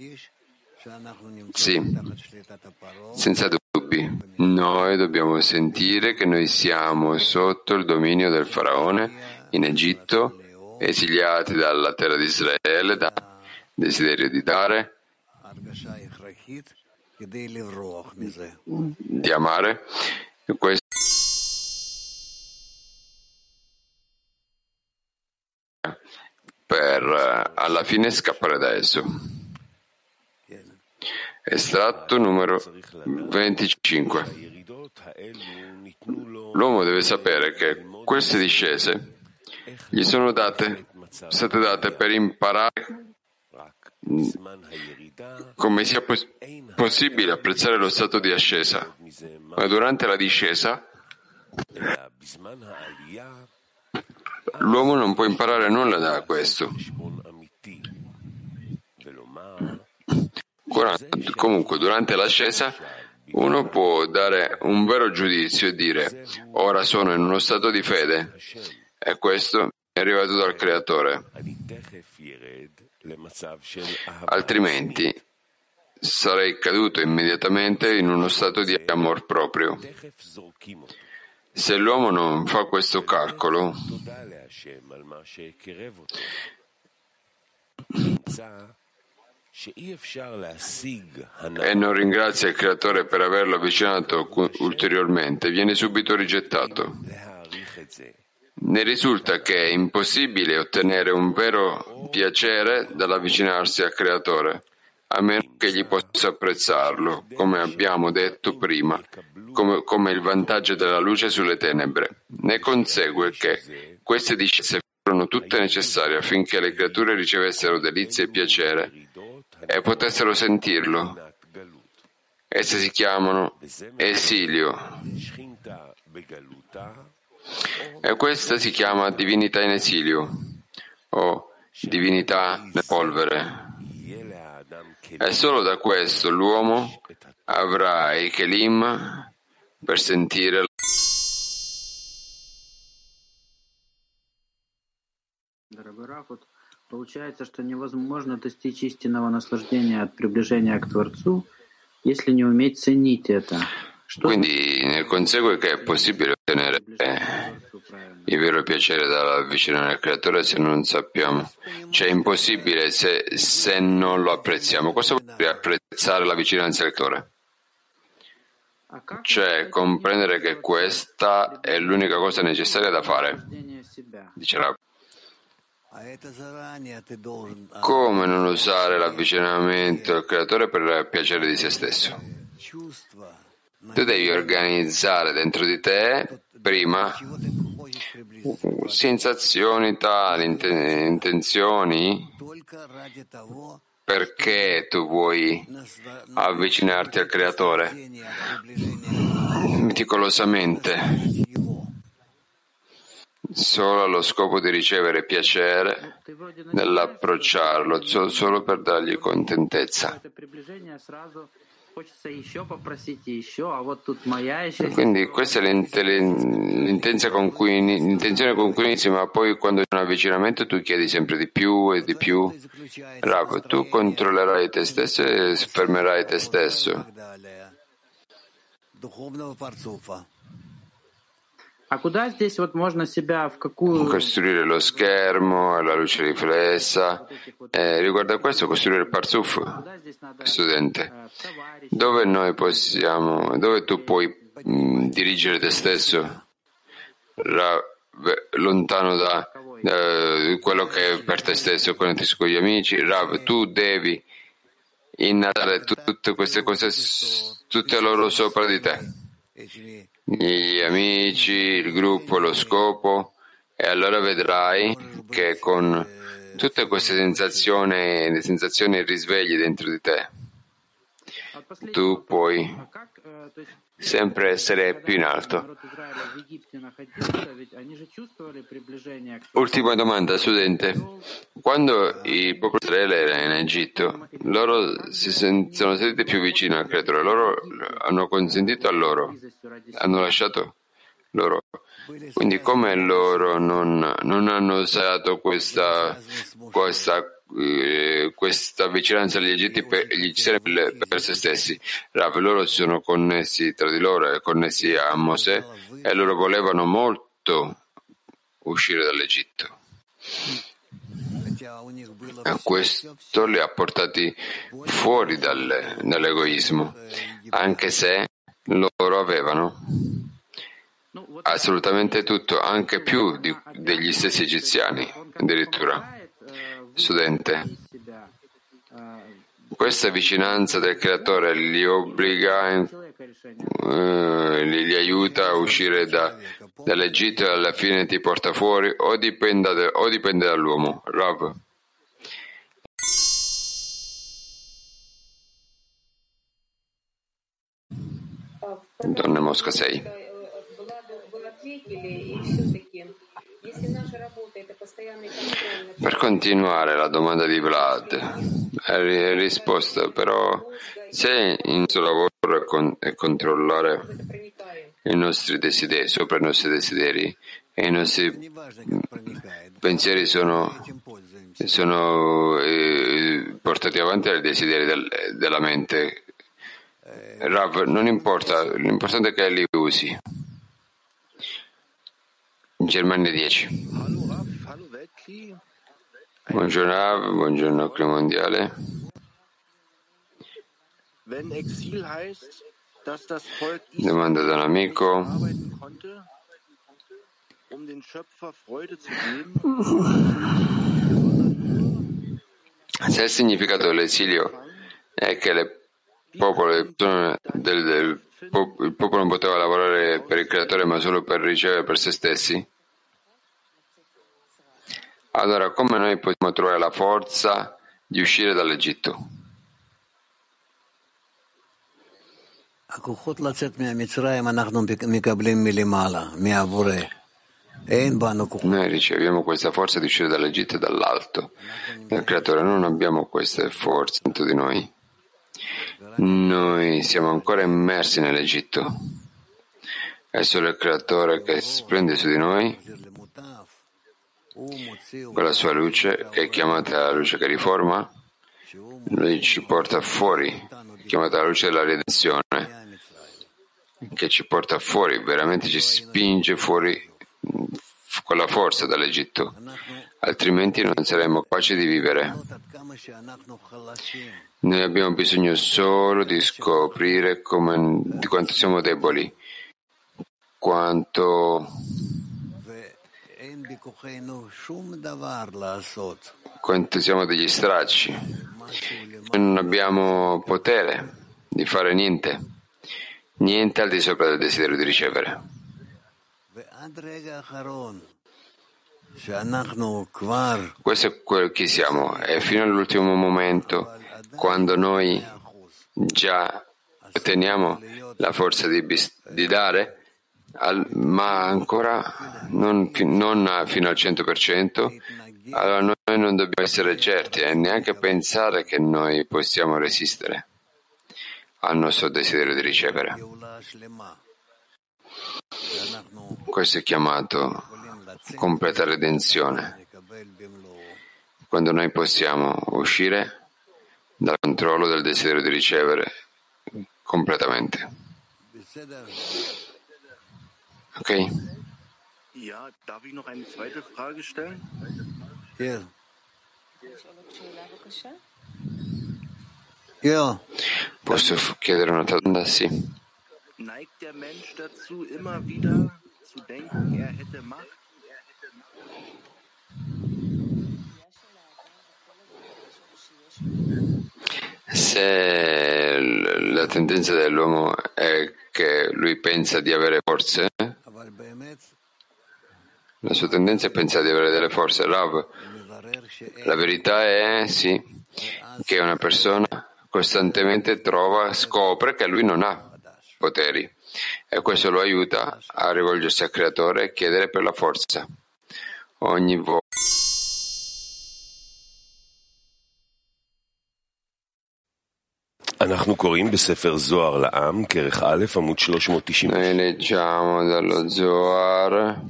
Sì, senza dubbi. Noi dobbiamo sentire che noi siamo sotto il dominio del faraone in Egitto, esiliati dalla terra di Israele, da desiderio di dare, di amare. Questo per alla fine scappare da esso. Estratto numero venticinque. L'uomo deve sapere che queste discese gli sono date, state date per imparare come sia pos- possibile apprezzare lo stato di ascesa, ma durante la discesa l'uomo non può imparare nulla da questo. Comunque, durante l'ascesa uno può dare un vero giudizio e dire: ora sono in uno stato di fede, e questo è arrivato dal Creatore. Altrimenti sarei caduto immediatamente in uno stato di amor proprio. Se l'uomo non fa questo calcolo e non ringrazia il Creatore per averlo avvicinato ulteriormente, viene subito rigettato. Ne risulta che è impossibile ottenere un vero piacere dall'avvicinarsi al Creatore, a meno che egli possa apprezzarlo, come abbiamo detto prima, come, come il vantaggio della luce sulle tenebre. Ne consegue che queste discese furono tutte necessarie affinché le creature ricevessero delizia e piacere e potessero sentirlo. Esse si chiamano esilio. E questa si chiama divinità in esilio o divinità nella polvere. E solo da questo l'uomo avrà i kelim per sentire Дорогой Раф, вот получается, что невозможно достичь истинного наслаждения от приближения к Творцу, если не уметь ценить это. Quindi ne consegue che è possibile ottenere il vero piacere dall'avvicinare al Creatore se non sappiamo. Cioè è impossibile se, se non lo apprezziamo. Cosa vuol dire apprezzare la vicinanza al Creatore? Cioè comprendere che questa è l'unica cosa necessaria da fare. Dice Rav. Come non usare l'avvicinamento al Creatore per il piacere di se stesso? Tu devi organizzare dentro di te prima sensazioni tali, intenzioni, perché tu vuoi avvicinarti al Creatore meticolosamente, solo allo scopo di ricevere piacere nell'approcciarlo, solo per dargli contentezza. Quindi questa è l'intenzione con cui, l'intenzione con cui inizi, ma poi quando c'è un avvicinamento tu chiedi sempre di più e di più. Rav, tu controllerai te stesso e fermerai te stesso. Costruire lo schermo, la luce riflessa. Eh, riguardo a questo, costruire il parzuf, studente. Dove noi possiamo, dove tu puoi mh, dirigere te stesso, ra, lontano da, da quello che è per te stesso, connettersi con gli amici. Rav, tu devi innalzare tutte queste cose, tutte loro sopra di te. Gli amici, il gruppo, lo scopo, e allora vedrai che con tutte queste sensazioni, le sensazioni e risvegli dentro di te, tu puoi sempre essere più in alto. Ultima domanda, studente. Quando il popolo di Israele era in Egitto, loro si sono sentiti più vicini al Creatore, loro hanno consentito a loro, hanno lasciato loro. Quindi come loro non, non hanno usato questa, questa, eh, questa vicinanza agli Egitti per, gli per, per se stessi? Rav, loro si sono connessi tra di loro e connessi a Mosè e loro volevano molto uscire dall'Egitto. E questo li ha portati fuori dal, dall'egoismo, anche se loro avevano assolutamente tutto, anche più di, degli stessi egiziani, addirittura. Studente, questa vicinanza del Creatore li obbliga, eh, li, li aiuta a uscire da, dall'Egitto e alla fine ti porta fuori, o dipende, o dipende dall'uomo. Rav. Donna Mosca sei. Per continuare la domanda di Vlad, è risposta però, se il nostro lavoro è, con, è controllare i nostri desideri, sopra i nostri desideri, e i nostri pensieri sono, sono eh, portati avanti dai desideri del, della mente, Rav, non importa, l'importante è che li usi. Germania dieci. Buongiorno Rav, buongiorno Clima Mondiale. Domanda da un amico. Se il significato dell'esilio è che le popolo, del, del, il popolo non poteva lavorare per il Creatore ma solo per ricevere per se stessi, allora come noi possiamo trovare la forza di uscire dall'Egitto? Noi riceviamo questa forza di uscire dall'Egitto e dall'alto del Creatore, non abbiamo queste forze dentro di noi. Noi siamo ancora immersi nell'Egitto. È solo il Creatore che splende su di noi con la sua luce, che è chiamata la luce che riforma. Lui ci porta fuori, chiamata la luce della redenzione, che ci porta fuori, veramente ci spinge fuori con la forza dall'Egitto, altrimenti non saremmo capaci di vivere. Noi abbiamo bisogno solo di scoprire come, di quanto siamo deboli, quanto, quanto siamo degli stracci. Non abbiamo potere di fare niente, niente al di sopra del desiderio di ricevere. Questo è quello che siamo, e fino all'ultimo momento, quando noi già otteniamo la forza di, di dare, al, ma ancora non, non fino al cento per cento, allora noi non dobbiamo essere certi e neanche pensare che noi possiamo resistere al nostro desiderio di ricevere. Questo è chiamato completa redenzione, quando noi possiamo uscire dal controllo del desiderio di ricevere completamente. Ok? Ja, darf ich noch eine zweite Frage stellen? Ja. Ja. Posso chiedere una domanda? Sì. Neigt der Mensch dazu, immer wieder zu denken, er hätte Macht? Se la tendenza dell'uomo è che lui pensa di avere forze, la sua tendenza è pensare di avere delle forze. Rav, la verità è sì, che una persona costantemente trova, scopre che lui non ha poteri e questo lo aiuta a rivolgersi al Creatore e chiedere per la forza. Ogni volta noi leggiamo dallo Zohar,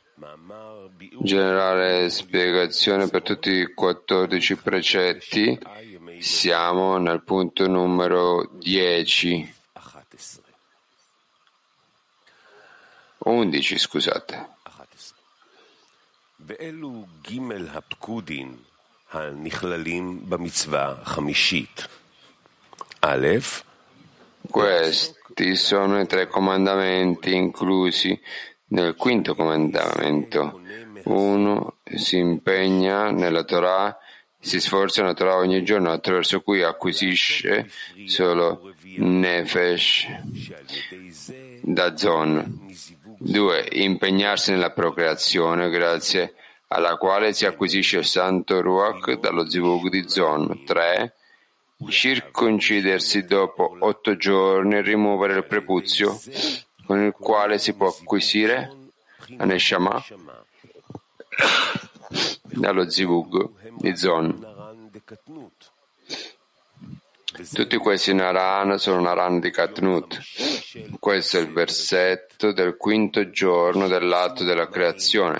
generale spiegazione per tutti i quattordici precetti. Siamo nel punto numero dieci. undici, scusate. Questi sono i tre comandamenti inclusi nel quinto comandamento. Uno si impegna nella Torah, si sforza nella Torah ogni giorno, attraverso cui acquisisce solo Nefesh da Zon. Due, impegnarsi nella procreazione, grazie alla quale si acquisisce il santo Ruach dallo Zivug di Zon. Tre, circoncidersi dopo otto giorni e rimuovere il prepuzio, con il quale si può acquisire la Neshama dallo Zivug di Zon. Tutti questi Naran sono Naran di Katnut. Questo è il versetto del quinto giorno dell'atto della creazione.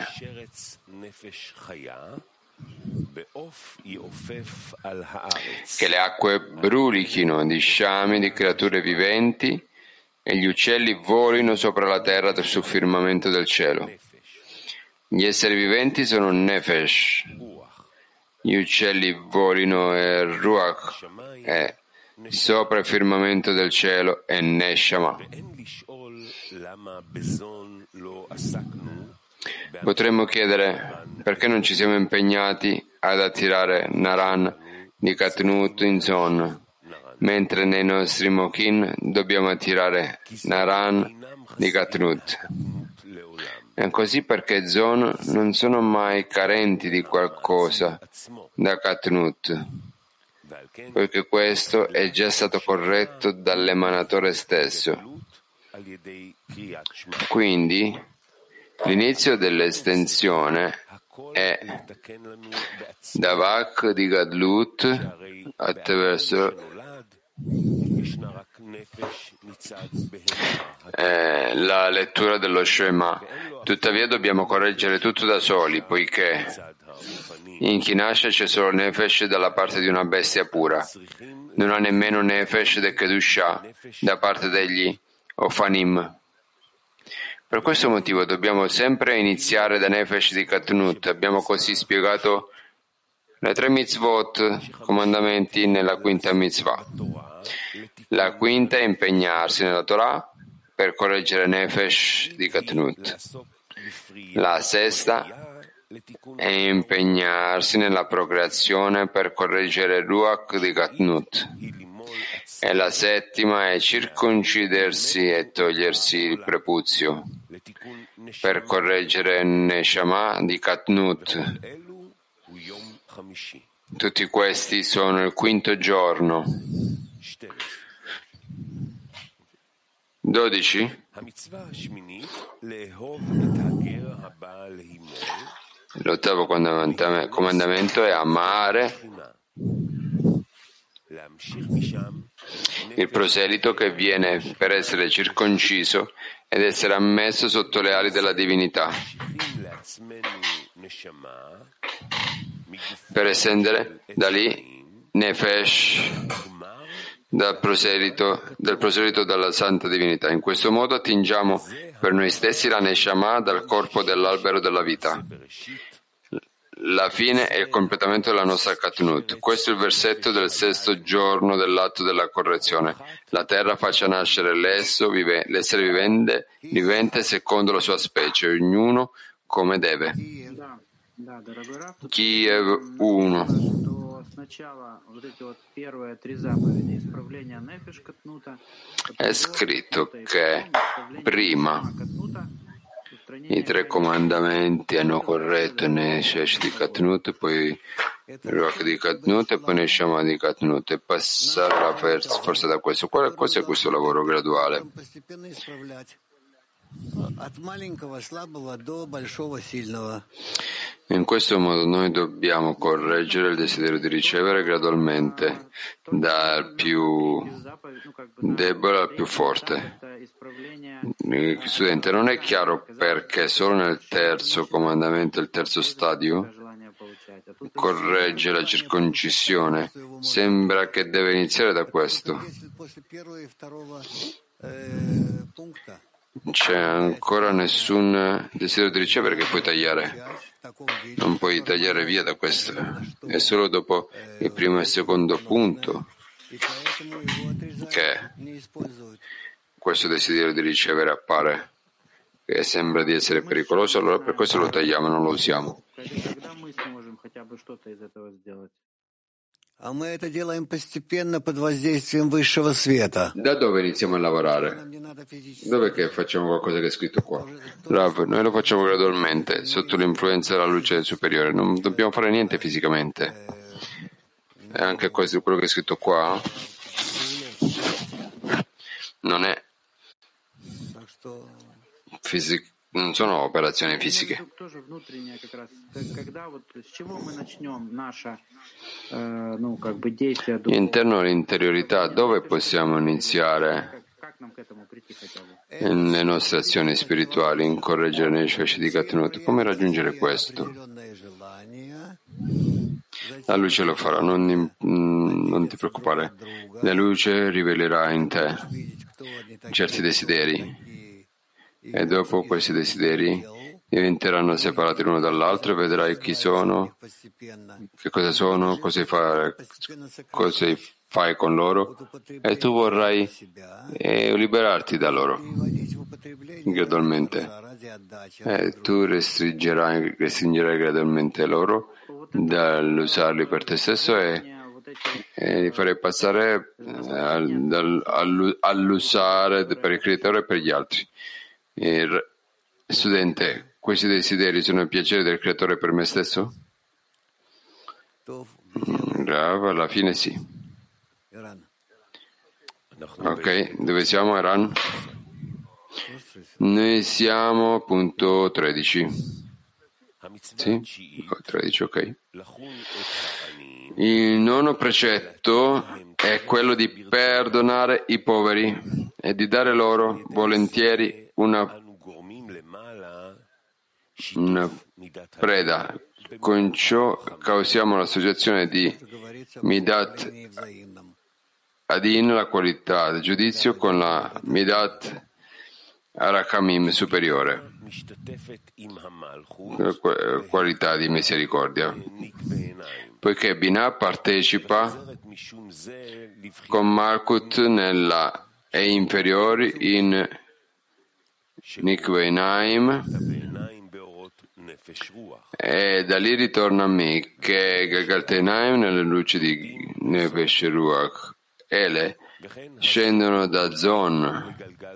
Che le acque brulichino di sciami di creature viventi e gli uccelli volino sopra la terra sul firmamento del cielo. Gli esseri viventi sono Nefesh, gli uccelli volino e Ruach e sopra il firmamento del cielo è Neshama. Potremmo chiedere perché non ci siamo impegnati ad attirare Naran di Katnut in Zon, mentre nei nostri Mokin dobbiamo attirare Naran di Katnut. È così perché Zon non sono mai carenti di qualcosa da Katnut, poiché questo è già stato corretto dall'emanatore stesso. Quindi l'inizio dell'estensione è Davak di Gadlut attraverso eh, la lettura dello Shema. Tuttavia dobbiamo correggere tutto da soli, poiché in Kinasha c'è solo Nefesh dalla parte di una bestia pura. Non ha nemmeno Nefesh de Kedusha da parte degli o Fanim. Per questo motivo dobbiamo sempre iniziare da Nefesh di Katnut. Abbiamo così spiegato le tre mitzvot, comandamenti, nella quinta mitzvah. La quinta è impegnarsi nella Torah per correggere Nefesh di Katnut. La sesta è impegnarsi nella procreazione per correggere Ruach di Katnut. E la settima è circoncidersi e togliersi il prepuzio per correggere Neshama di Katnut. Tutti questi sono il quinto giorno. dodici. L'ottavo comandamento è amare il proselito che viene per essere circonciso ed essere ammesso sotto le ali della divinità, per estendere da lì Nefesh dal proselito, del proselito dalla santa divinità. In questo modo attingiamo per noi stessi la Neshama dal corpo dell'albero della vita. La fine è il completamento della nostra Katnut. Questo è il versetto del sesto giorno dell'atto della correzione. La terra faccia nascere l'esso, vive, l'essere vivente, vivente secondo la sua specie, ognuno come deve. Kiev uno. È scritto che prima i tre comandamenti hanno corretto Nefesh di Katnut, poi Ruach di Katnut e poi Neshama di Katnut, e passare la forza da questo. Qual è questo lavoro graduale? In questo modo noi dobbiamo correggere il desiderio di ricevere gradualmente dal più debole al più forte. Studente, non è chiaro perché solo nel terzo comandamento, il terzo stadio, corregge la circoncisione. Sembra che deve iniziare da questo. C'è ancora nessun desiderio di ricevere che puoi tagliare. Non puoi tagliare via da questo. È solo dopo il primo e il secondo punto che questo desiderio di ricevere appare, che sembra di essere pericoloso, allora per questo lo tagliamo, non lo usiamo. Da dove iniziamo a lavorare? Dove che facciamo qualcosa che è scritto qua? Rav, noi lo facciamo gradualmente, sotto l'influenza della luce superiore, non dobbiamo fare niente fisicamente. E anche questo, quello che è scritto qua, non è fisico. Non sono operazioni fisiche. Interno all'interiorità, dove possiamo iniziare le nostre azioni spirituali in correggere Nefesh di Katnut? Come raggiungere questo? La luce lo farà, non, non ti preoccupare. La luce rivelerà in te certi desideri. E dopo questi desideri diventeranno separati l'uno dall'altro e vedrai chi sono, che cosa sono, cosa fai, cosa fai con loro, e tu vorrai eh, liberarti da loro gradualmente. E tu restringerai, restringerai gradualmente loro dall'usarli per te stesso e, e li farai passare eh, all'usare per il creatore e per gli altri. Il studente, questi desideri sono il piacere del creatore per me stesso? Bravo, alla fine sì. Ok, dove siamo, Eran? Noi siamo punto tredici. Sì? tredici, ok. Il nono precetto è quello di perdonare i poveri e di dare loro volentieri una, una preda. Con ciò causiamo l'associazione di Midat Adin, la qualità del giudizio, con la Midat Arakamim superiore, qualità di misericordia, poiché Binah partecipa con Malkut nella e inferiori in Nikveinaim, e da lì ritorna a me che Galgalteinaim nelle luci di Nefesh Ruach. Ele scendono da Zon.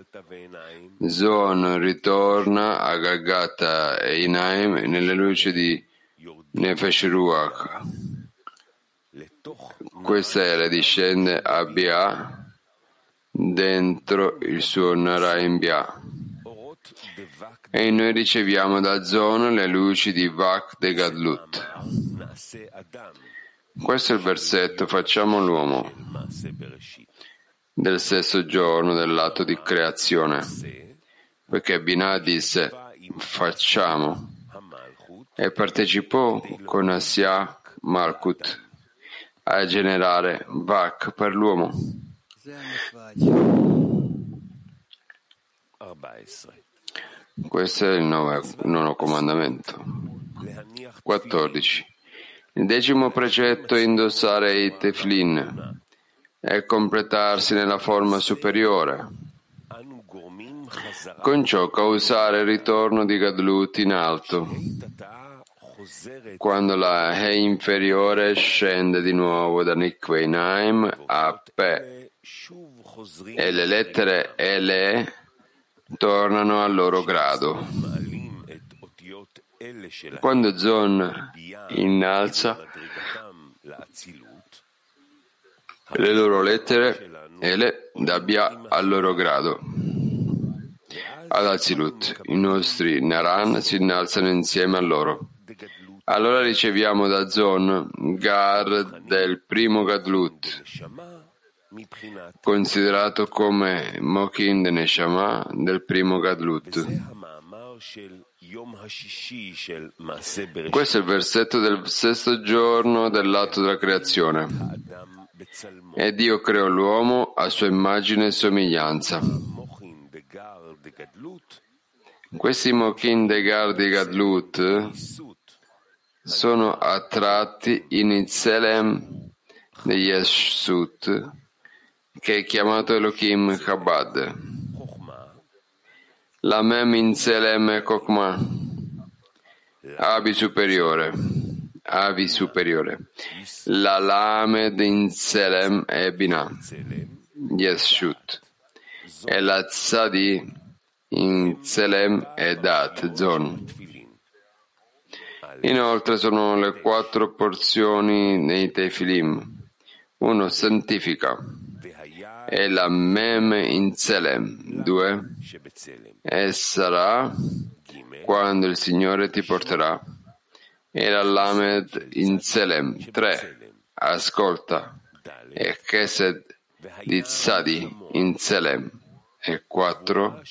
Zon ritorna a Galgata e Inaim nelle luci di Nefesh Ruach. Questa era discende a Bia dentro il suo Narayan Bia. E noi riceviamo da Zon le luci di Vak de Gadlut. Questo è il versetto, facciamo l'uomo, del stesso giorno dell'atto di creazione, perché Binah disse facciamo e partecipò con Asiak Malkut a generare Vak per l'uomo. Questo è il nono comandamento. quattordici. Il decimo precetto è indossare i teflin e completarsi nella forma superiore. Con ciò causare il ritorno di Gadlut in alto. Quando la He inferiore scende di nuovo da Nikveinaim a Pe e le lettere Ele tornano al loro grado. Quando Zon innalza le loro lettere Ele da Bia al loro grado ad Azilut, i nostri Naran si innalzano insieme a loro. Allora riceviamo da Zon Gar del primo Gadlut, considerato come Mokin de Neshama del primo Gadlut. Questo è il versetto del sesto giorno dell'atto della creazione. E Dio creò l'uomo a sua immagine e somiglianza. Questi Mokin de Gar di Gadlut sono attratti in Itzelem di Yeshut, che è chiamato Elohim Chabad. La Mem in Tzelem è Kokma, Abi superiore, Avi superiore. La Lamed in Tzelem è Binah, Yeshut. E la Tzadi in Tzelem è Dat, Zon. Inoltre sono le quattro porzioni nei Tefilim. Uno santifica. E la Mem in Tzelem. Due. E sarà quando il Signore ti porterà. E la Lamed in Tzelem. Tre. Ascolta. E Chesed di Tzadi in Tzelem. E quattro.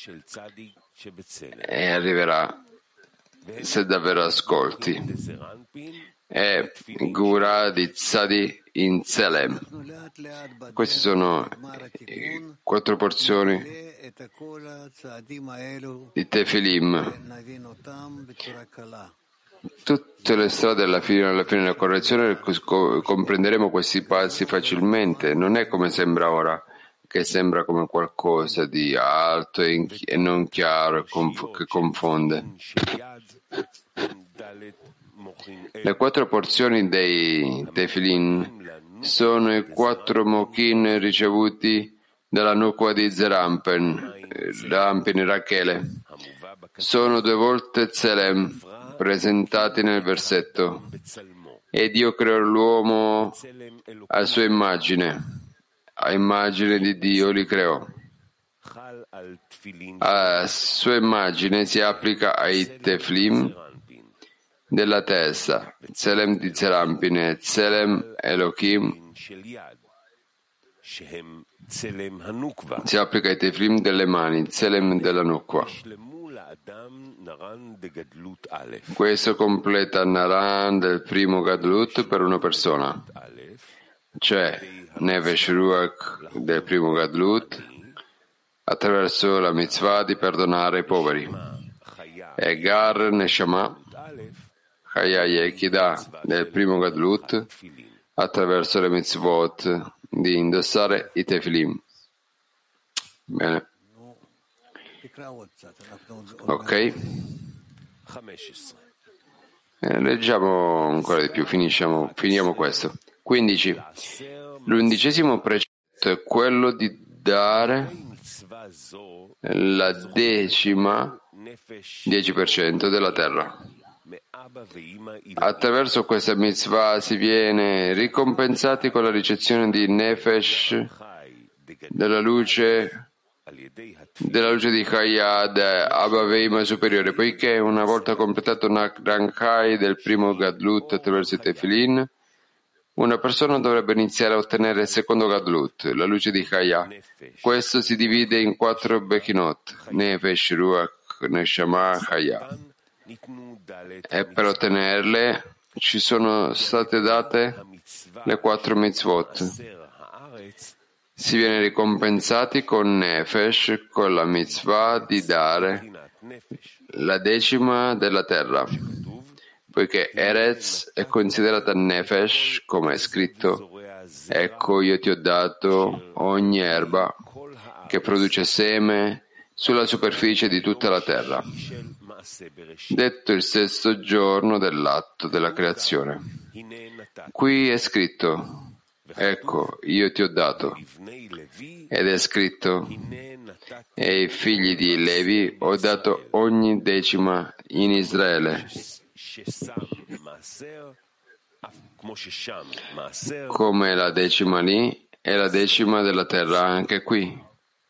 E arriverà se davvero ascolti. E Gura di Tzadi in Tzelem. Queste sono quattro porzioni di Tefilim. Tutte le strade alla fine, alla fine della correzione comprenderemo questi passi facilmente. Non è come sembra ora, che sembra come qualcosa di alto e, in, e non chiaro e conf, che confonde. Le quattro porzioni dei Tefilin sono i quattro Mokin ricevuti dalla Nukwa di Zerampen, Rampen Rachele. Sono due volte Tzelem presentati nel versetto. E Dio creò l'uomo a sua immagine. A immagine di Dio li creò. A sua immagine si applica ai Teflim della testa, Tzelem di Zerampine, Tzelem Elohim, si applica ai Teflim delle mani, Tzelem della Nukwa. Questo completa Naran del primo Gadlut per una persona, cioè Nefesh Ruach del primo Gadlut, attraverso la mitzvah di perdonare i poveri. E Gar Neshama Chaya Yechidah del primo Gadlut attraverso le mitzvot di indossare i tefilim. Bene. Ok. Eh, leggiamo ancora di più, finisciamo, finiamo questo. quindici. L'undicesimo precetto è quello di dare la decima dieci per cento della terra. Attraverso questa mitzvah si viene ricompensati con la ricezione di Nefesh della luce della luce di Chayad Abba Veima superiore, poiché una volta completato Nakrankai del primo Gadlut attraverso i Tefilin, una persona dovrebbe iniziare a ottenere il secondo Gadlut, la luce di Chaya. Questo si divide in quattro Bechinot, Nefesh, Ruach, Neshama, Chaya. E per ottenerle ci sono state date le quattro mitzvot. Si viene ricompensati con Nefesh, con la mitzvah di dare la decima della terra, poiché Eretz è considerata Nefesh, come è scritto: ecco io ti ho dato ogni erba che produce seme sulla superficie di tutta la terra, detto il sesto giorno dell'atto della creazione. Qui è scritto: ecco, io ti ho dato. Ed è scritto: e ai figli di Levi ho dato ogni decima in Israele. Come la decima lì è la decima della terra anche qui.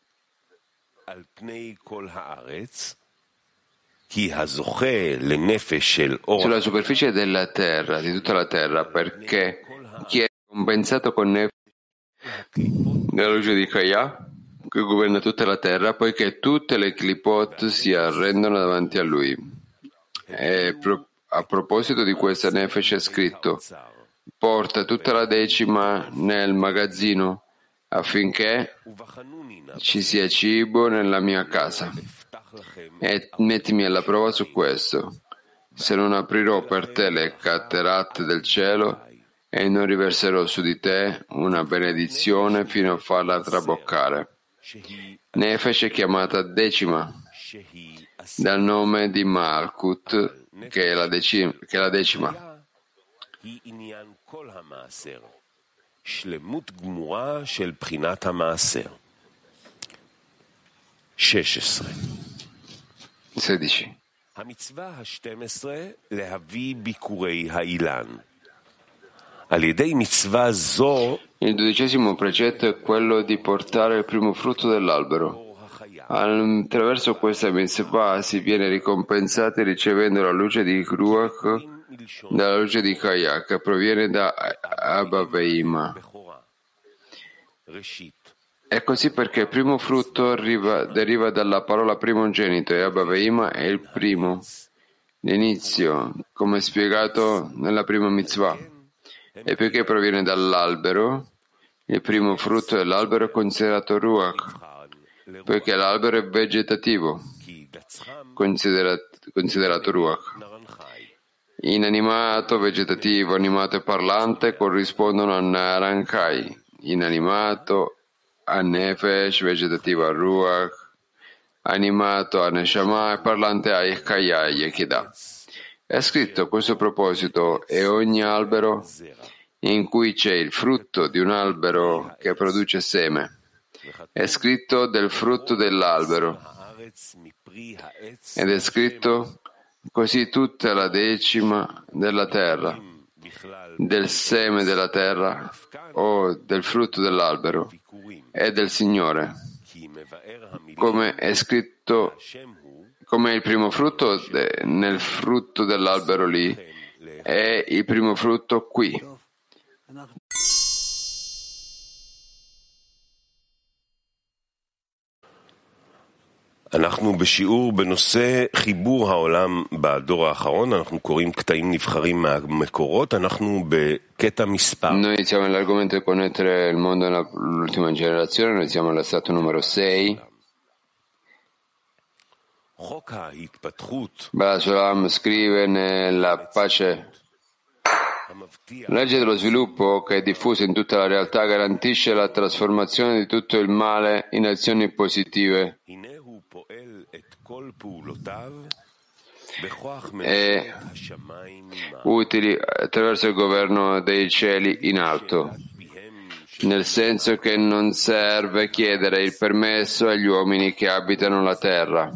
Sulla superficie della terra, di tutta la terra, perché chi è compensato con Nefesh della luce di Chaya, che governa tutta la terra, poiché tutte le clipot si arrendono davanti a lui. E pro- a proposito di questa Nefesh è scritto: porta tutta la decima nel magazzino affinché ci sia cibo nella mia casa. E mettimi alla prova su questo, se non aprirò per te le cataratte del cielo e non riverserò su di te una benedizione fino a farla traboccare. Nefesh è chiamata decima dal nome di Malkut, che è la, decima, che è la decima. sedici. Il dodicesimo precetto è quello di portare il primo frutto dell'albero. Attraverso questa mitzvah si viene ricompensati ricevendo la luce di Ruach dalla luce di Chaya, che proviene da Abba Veima. È così perché il primo frutto arriva, deriva dalla parola primogenito e Abba Veima è il primo, l'inizio, come spiegato nella prima mitzvah. E poiché proviene dall'albero, il primo frutto dell'albero è considerato Ruach, poiché l'albero è vegetativo, considerato, considerato Ruach. Inanimato, vegetativo, animato e parlante corrispondono a Narankai, inanimato a Nefesh, vegetativo a Ruach, animato a Neshama e parlante a Chaya Yechidah. È scritto a questo proposito: e ogni albero in cui c'è il frutto di un albero che produce seme. È scritto del frutto dell'albero. Ed è scritto così tutta la decima della terra, del seme della terra o del frutto dell'albero è del Signore. Come è scritto, come il primo frutto de, nel frutto dell'albero lì, è il primo frutto qui. אנחנו בשיעור בנושא חיבור העולם בדור האחרון, אנחנו קוראים קטעים נבחרים מהמקורות, אנחנו בקטע מספר. Noi iniziamo nell'argomento di connettere il mondo nell'ultima generazione, noi siamo all'estratto numero sei. Balasulam scrive nella pace: la legge dello sviluppo, che è diffusa in tutta la realtà, garantisce la trasformazione di tutto il male in azioni positive e utili attraverso il governo dei cieli in alto, nel senso che non serve chiedere il permesso agli uomini che abitano la terra.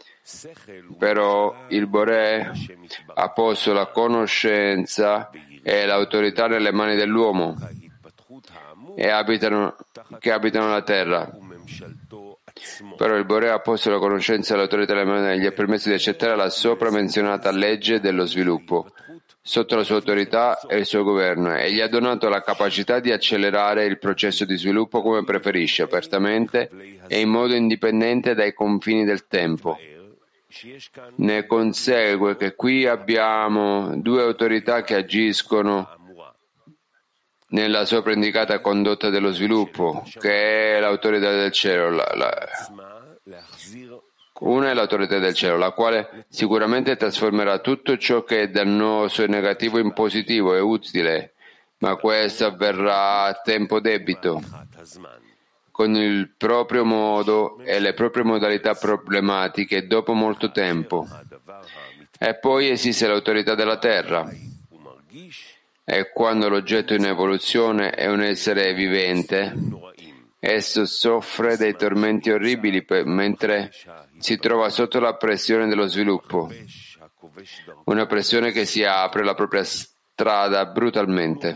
Però il Boré ha posto la conoscenza e l'autorità nelle mani dell'uomo e abitano, che abitano la terra. Però il Boré ha posto la conoscenza e l'autorità nelle mani e gli ha permesso di accettare la sopra menzionata legge dello sviluppo sotto la sua autorità e il suo governo, e gli ha donato la capacità di accelerare il processo di sviluppo come preferisce, apertamente e in modo indipendente dai confini del tempo. Ne consegue che qui abbiamo due autorità che agiscono nella sopra indicata condotta dello sviluppo, che è l'autorità del cielo. La, la, una è l'autorità del cielo, la quale sicuramente trasformerà tutto ciò che è dannoso e negativo in positivo e utile, ma questo avverrà a tempo debito, con il proprio modo e le proprie modalità problematiche dopo molto tempo. E poi esiste l'autorità della terra. E quando l'oggetto in evoluzione è un essere vivente, esso soffre dei tormenti orribili per, mentre si trova sotto la pressione dello sviluppo, una pressione che si apre la propria strada brutalmente.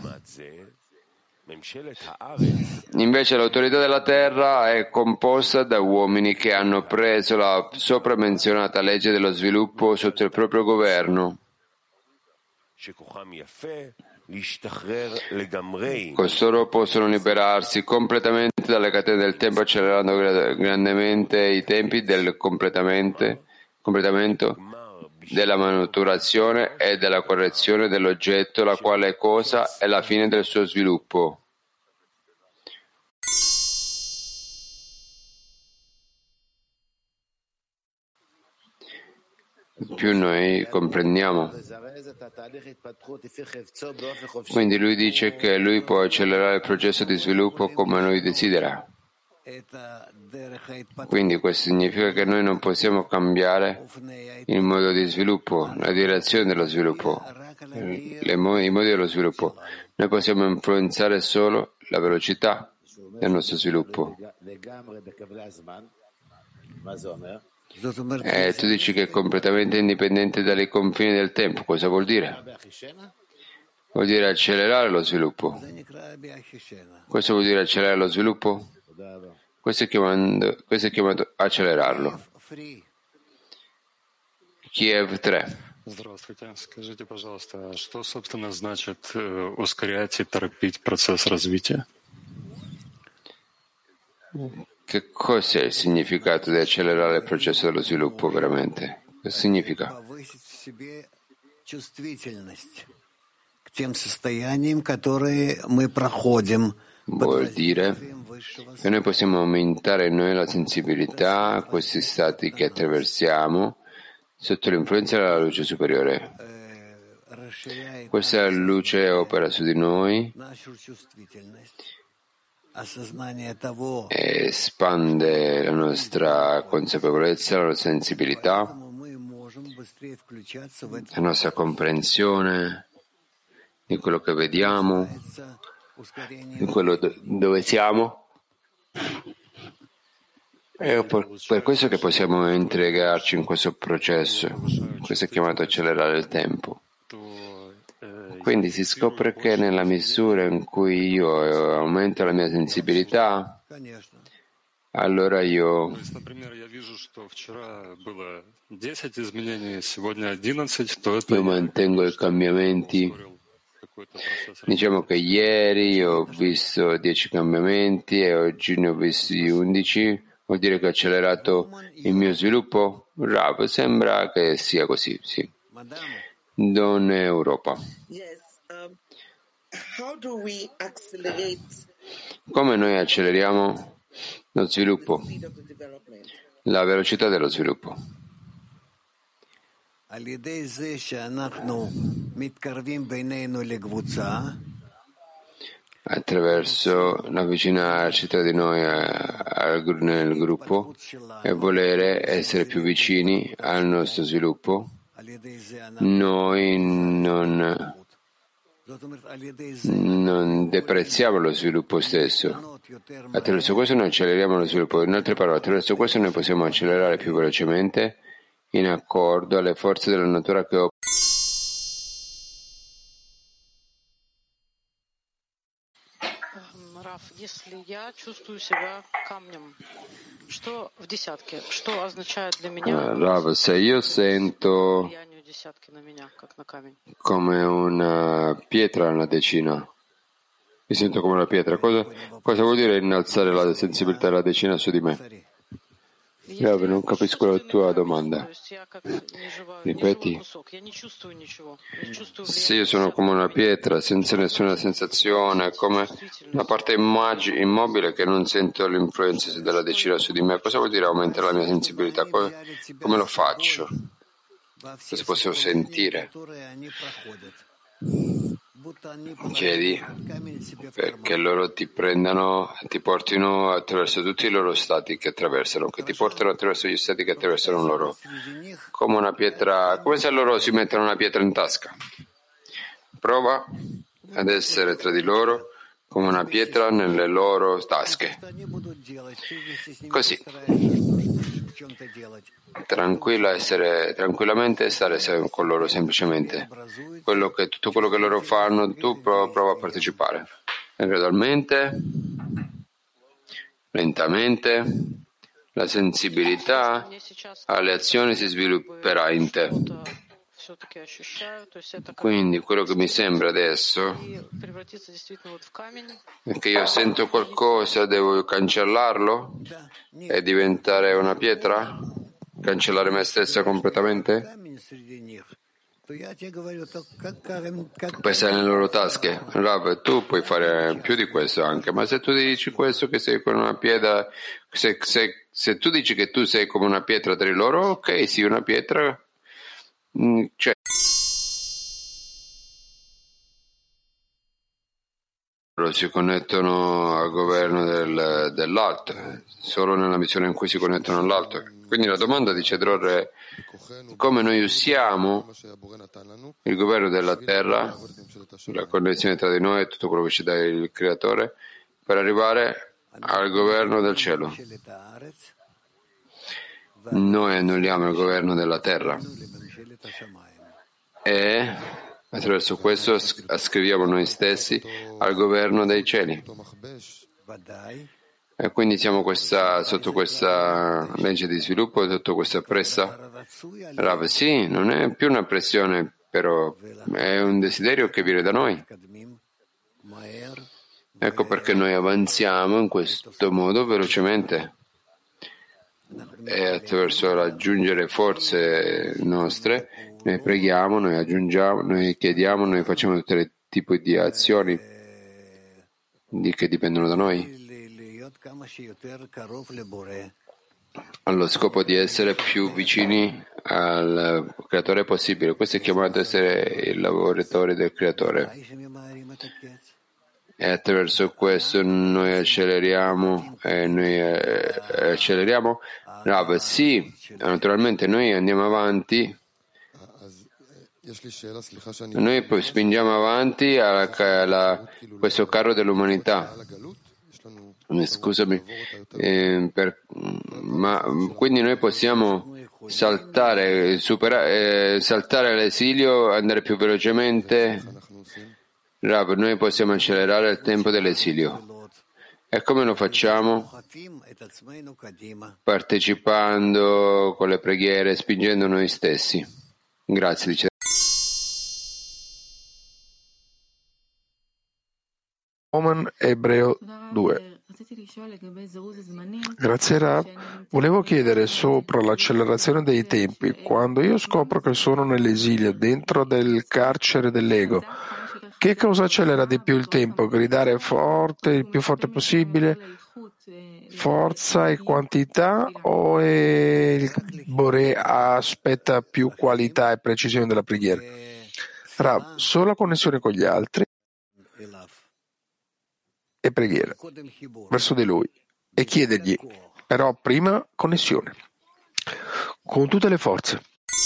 Invece l'autorità della terra è composta da uomini che hanno preso la sopra menzionata legge dello sviluppo sotto il proprio governo. Costoro possono liberarsi completamente dalle catene del tempo, accelerando grandemente i tempi del completamento della maturazione e della correzione dell'oggetto, la quale cosa è la fine del suo sviluppo. Più noi comprendiamo. Quindi lui dice che lui può accelerare il processo di sviluppo come lui desidera. Quindi questo significa che noi non possiamo cambiare il modo di sviluppo, la direzione dello sviluppo, le mo- i modi dello sviluppo. Noi possiamo influenzare solo la velocità del nostro sviluppo. E tu dici che è completamente indipendente dai confini del tempo. Cosa vuol dire? Vuol dire accelerare lo sviluppo. Questo vuol dire accelerare lo sviluppo? Questo è chiamato, questo è chiamato accelerarlo. Kiev tre. Здравствуйте. Скажите, пожалуйста, что, собственно, значит ускорять и торопить процесс развития? Che cos'è il significato di accelerare il processo dello sviluppo veramente? Cosa significa? Vuol dire che noi possiamo aumentare in noi la sensibilità a questi stati che attraversiamo sotto l'influenza della luce superiore. Questa luce opera su di noi e espande la nostra consapevolezza, la nostra sensibilità, la nostra comprensione di quello che vediamo, di quello do- dove siamo. È per, per questo che possiamo integrarci in questo processo. Questo è chiamato accelerare il tempo. Quindi si scopre che nella misura in cui io aumento la mia sensibilità, allora io io mantengo i cambiamenti. Diciamo che ieri ho visto dieci cambiamenti e oggi ne ho visti undici. Vuol dire che ho accelerato il mio sviluppo? Bravo, sembra che sia così, sì. Donna Europa. Come noi acceleriamo lo sviluppo? La velocità dello sviluppo. attraverso l'avvicinarci tra di noi al, nel gruppo e volere essere più vicini al nostro sviluppo, noi non, non deprezziamo lo sviluppo stesso. Attraverso questo noi acceleriamo lo sviluppo. In altre parole, attraverso questo noi possiamo accelerare più velocemente in accordo alle forze della natura che operano. Если я чувствую себя камнем, что в десятке, что означает для меня Rav, se io sento влияние десятки на меня, как на камень? come una pietra nella decina, mi sento come una pietra, cosa, cosa vuol dire innalzare la sensibilità della decina su di me? Rav, non capisco la tua domanda. Ripeti. Se io sono come una pietra senza nessuna sensazione, come una parte immag- immobile che non sento l'influenza della decina su di me, cosa vuol dire aumentare la mia sensibilità? Come, come lo faccio? Cosa posso sentire? Chiedi perché loro ti prendano, ti portino attraverso tutti i loro stati che attraversano, che ti portano attraverso gli stati che attraversano loro, come una pietra, come se loro si mettono una pietra in tasca. Prova ad essere tra di loro come una pietra nelle loro tasche. Così. Tranquilla essere, tranquillamente stare con loro semplicemente. Quello che, tutto quello che loro fanno, tu prova, prova a partecipare. E gradualmente, lentamente, la sensibilità alle azioni si svilupperà in te. Quindi quello che mi sembra adesso è che io sento qualcosa, devo cancellarlo e diventare una pietra? Cancellare me stessa completamente? Puoi stare nelle loro tasche. Rav, tu puoi fare più di questo anche, ma se tu dici questo che sei come una pietra, se, se, se tu dici che tu sei come una pietra tra di loro, ok, sì, una pietra, cioè loro si connettono al governo del, dell'alto, solo nella missione in cui si connettono all'alto. Quindi la domanda di Cedror è come noi usiamo il governo della terra, la connessione tra di noi e tutto quello che ci dà il Creatore, per arrivare al governo del cielo. Noi annulliamo il governo della terra e attraverso questo ascriviamo noi stessi al governo dei cieli. E quindi siamo questa, sotto questa legge di sviluppo, sotto questa pressa. Rav, sì, non è più una pressione, però è un desiderio che viene da noi. Ecco perché noi avanziamo in questo modo velocemente. E attraverso raggiungere forze nostre, noi preghiamo, noi aggiungiamo, noi chiediamo, noi facciamo tutti i tipi di azioni di, che dipendono da noi, allo scopo di essere più vicini al Creatore possibile. Questo è chiamato essere il lavoratore del Creatore. E attraverso questo noi acceleriamo e noi eh, acceleriamo. Rav, sì, naturalmente noi andiamo avanti, noi poi spingiamo avanti alla, alla, questo carro dell'umanità. Scusami, eh, per, ma quindi noi possiamo saltare, superare, eh, saltare l'esilio, andare più velocemente. Rav, noi possiamo accelerare il tempo dell'esilio. E come lo facciamo? Partecipando con le preghiere, spingendo noi stessi. Grazie, dice. Oman Ebreo due. Grazie Rav. Volevo chiedere sopra l'accelerazione dei tempi. Quando io scopro che sono nell'esilio, dentro del carcere dell'ego, che cosa accelera di più il tempo? Gridare forte, il più forte possibile? forza e quantità o è il Boré aspetta più qualità e precisione della preghiera? Rav, solo connessione con gli altri e preghiera verso di lui e chiedergli, però prima connessione con tutte le forze.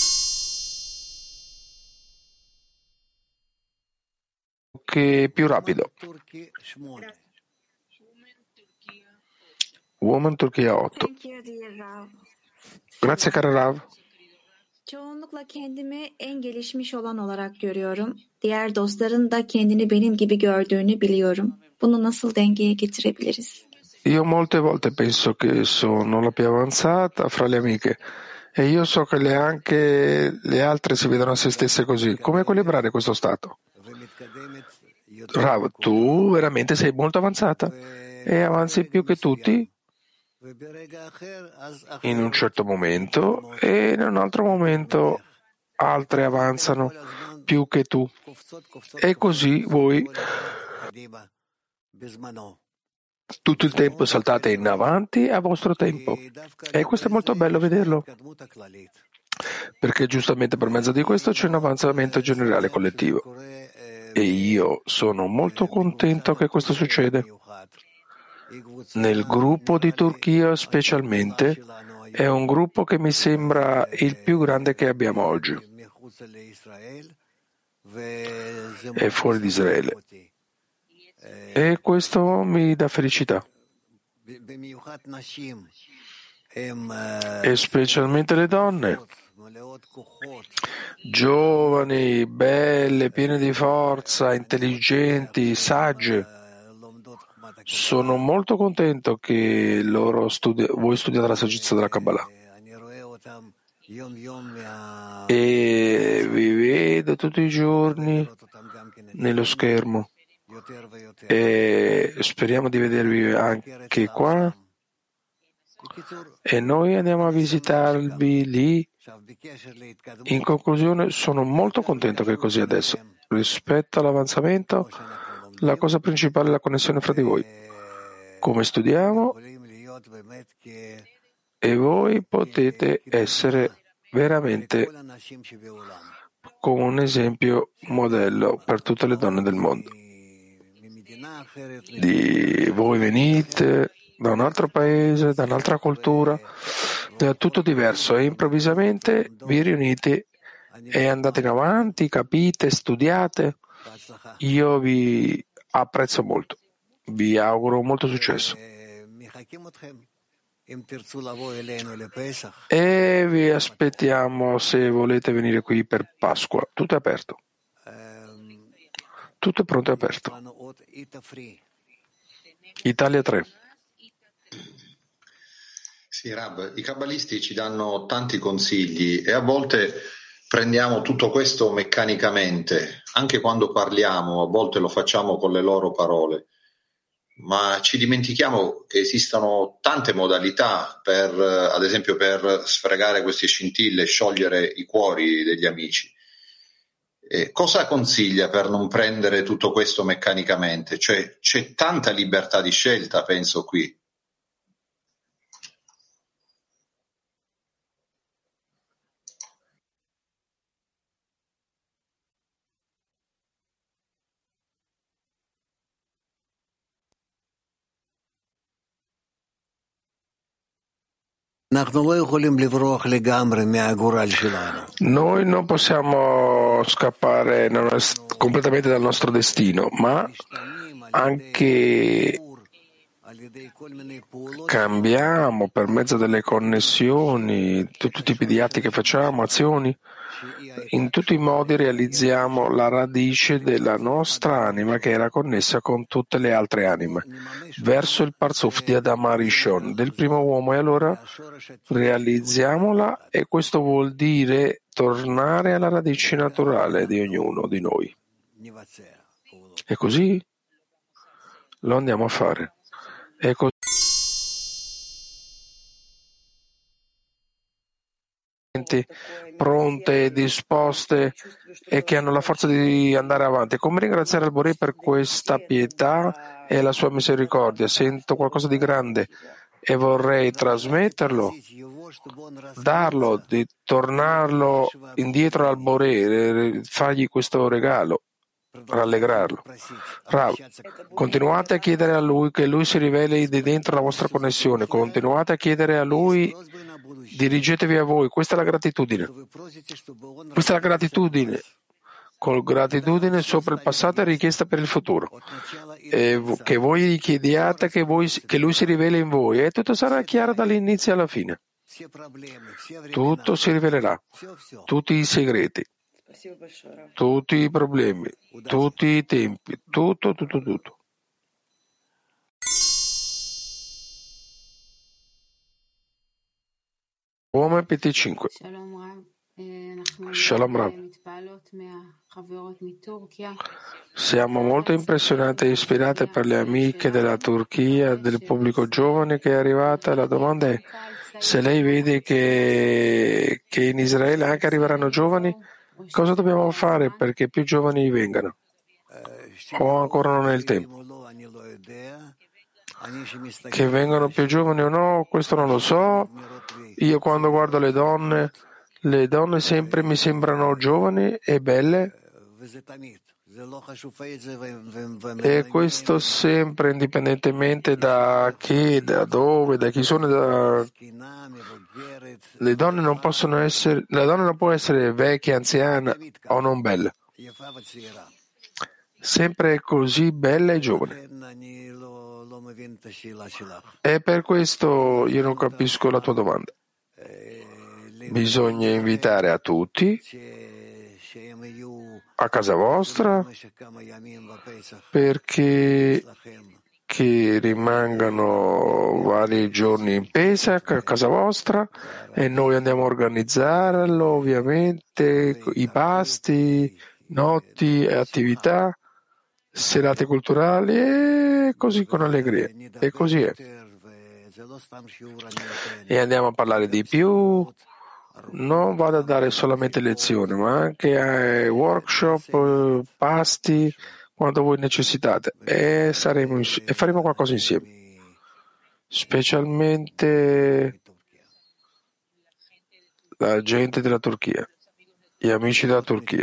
Che è più rapido. Woman Turchia otto. Grazie cara Rav. Çoğunlukla kendimi en gelişmiş olan olarak görüyorum. Diğer dostların da kendini benim gibi gördüğünü biliyorum. Bunu nasıl dengeye getirebiliriz? Io molte volte penso che sono la più avanzata fra le amiche e io so che le anche le altre si vedono a se stesse così. Come equilibrare questo stato? Rav, tu veramente sei molto avanzata e avanzi più che tutti in un certo momento e in un altro momento altre avanzano più che tu e così voi tutto il tempo saltate in avanti a vostro tempo e questo è molto bello vederlo perché giustamente per mezzo di questo c'è un avanzamento generale collettivo e io sono molto contento che questo succede. Nel gruppo di Turchia specialmente è un gruppo che mi sembra il più grande che abbiamo oggi. È fuori di Israele. E questo mi dà felicità. E specialmente le donne. Giovani, belle, piene di forza, intelligenti, sagge. Sono molto contento che loro studi- voi studiate la saggezza della Kabbalah. E vi vedo tutti i giorni nello schermo. E speriamo di vedervi anche qua. E noi andiamo a visitarvi lì. In conclusione, sono molto contento che è così adesso. Rispetto all'avanzamento, la cosa principale è la connessione fra di voi. Come studiamo e voi potete essere veramente come un esempio modello per tutte le donne del mondo. Di voi venite da un altro paese, da un'altra cultura, da tutto diverso e improvvisamente vi riunite e andate in avanti, capite, studiate. Io vi apprezzo molto. Vi auguro molto successo. E vi aspettiamo se volete venire qui per Pasqua. Tutto è aperto. Tutto è pronto e aperto. Italia tre. Sì, Rab, i kabbalisti ci danno tanti consigli e a volte prendiamo tutto questo meccanicamente. Anche quando parliamo, a volte lo facciamo con le loro parole. Ma ci dimentichiamo che esistono tante modalità per, ad esempio, per sfregare queste scintille, sciogliere i cuori degli amici. E cosa consiglia per non prendere tutto questo meccanicamente? Cioè, c'è tanta libertà di scelta, penso qui. Noi non possiamo scappare completamente dal nostro destino, ma anche cambiamo per mezzo delle connessioni, tutti i tipi di atti che facciamo, azioni. In tutti i modi realizziamo la radice della nostra anima che era connessa con tutte le altre anime, verso il Parzuf di Adam Arishon, del primo uomo, e allora realizziamola e questo vuol dire tornare alla radice naturale di ognuno di noi. E così lo andiamo a fare. E così pronte, disposte e che hanno la forza di andare avanti. Come ringraziare il Boré per questa pietà e la sua misericordia? Sento qualcosa di grande e vorrei trasmetterlo, darlo, di tornarlo indietro al Boré, fargli questo regalo, rallegrarlo. Rav, continuate a chiedere a Lui che Lui si riveli di dentro la vostra connessione, continuate a chiedere a Lui, dirigetevi a voi, questa è la gratitudine. Questa è la gratitudine. Con gratitudine sopra il passato e richiesta per il futuro. E che voi gli chiediate che, voi, che Lui si riveli in voi e tutto sarà chiaro dall'inizio alla fine. Tutto si rivelerà, tutti i segreti, tutti i problemi, tutti i tempi, tutto, tutto, tutto. Uomo P T cinque. Shalom Rav. Siamo molto impressionati e ispirati per le amiche della Turchia, del pubblico giovane che è arrivata. La domanda è se lei vede che, che in Israele anche arriveranno giovani, cosa dobbiamo fare perché più giovani vengano? O ancora non è il tempo? Che vengano più giovani o no, questo non lo so. Io quando guardo le donne, le donne sempre mi sembrano giovani e belle, e questo sempre indipendentemente da chi, da dove, da chi sono. Da... Le donne non possono essere, la donna non può essere vecchia, anziana o non bella, sempre così bella e giovane. E per questo io non capisco la tua domanda. Bisogna invitare a tutti a casa vostra perché che rimangano vari giorni in Pesach a casa vostra e noi andiamo a organizzarlo, ovviamente, i pasti, notti e attività, serate culturali e così con allegria. E così è. E andiamo a parlare di più. Non vado a dare solamente lezioni, ma anche workshop, pasti, quando voi necessitate, e, saremo ins- e faremo qualcosa insieme, specialmente la gente della Turchia, gli amici della Turchia.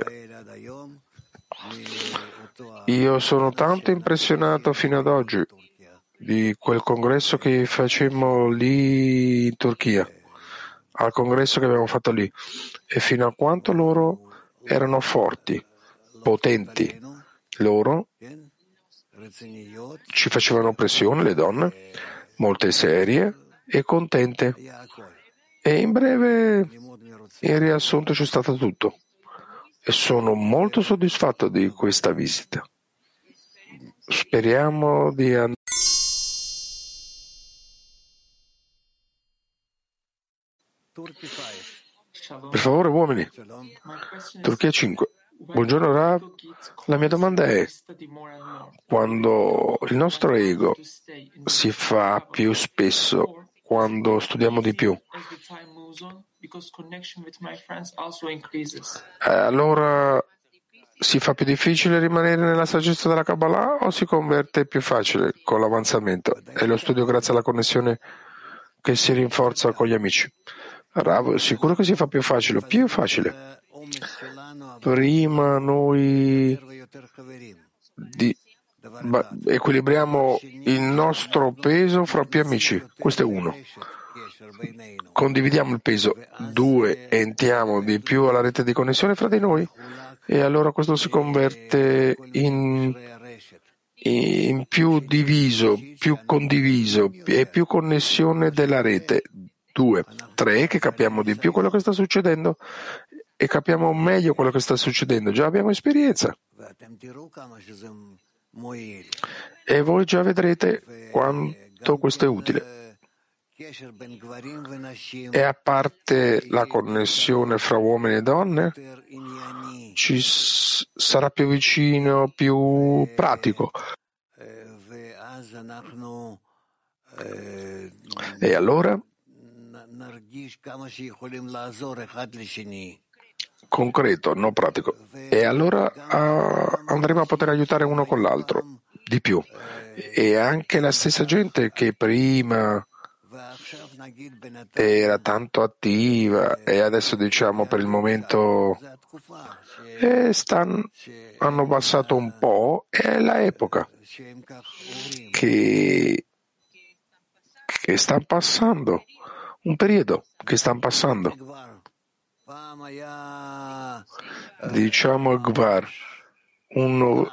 Io sono tanto impressionato fino ad oggi di quel congresso che facemmo lì in Turchia, al congresso che abbiamo fatto lì, e fino a quanto loro erano forti, potenti. Loro ci facevano pressione, le donne, molte serie e contente. E in breve, in riassunto, c'è stato tutto. E sono molto soddisfatto di questa visita. Speriamo di andare. Per favore, uomini. Turchia cinque. Buongiorno Rav. La mia domanda è: quando il nostro ego si fa più spesso, quando studiamo di più, allora si fa più difficile rimanere nella saggezza della Kabbalah o si converte più facile con l'avanzamento e lo studio grazie alla connessione che si rinforza con gli amici? Rav, sicuro che si fa più facile, più facile. Prima noi di, ba, equilibriamo il nostro peso fra più amici, questo è uno. Condividiamo il peso, due, entriamo di più alla rete di connessione fra di noi e allora questo si converte in, in più diviso, più condiviso e più connessione della rete. Due, tre, che capiamo di più quello che sta succedendo e capiamo meglio quello che sta succedendo. Già abbiamo esperienza. E voi già vedrete quanto questo è utile. E a parte la connessione fra uomini e donne, ci s- sarà più vicino, più pratico. E allora concreto, non pratico. E allora uh, andremo a poter aiutare uno con l'altro di più. E anche la stessa gente che prima era tanto attiva e adesso diciamo per il momento eh, stanno, hanno passato un po', è la epoca che, che sta passando, un periodo che stanno passando. Diciamo il Gvar, uno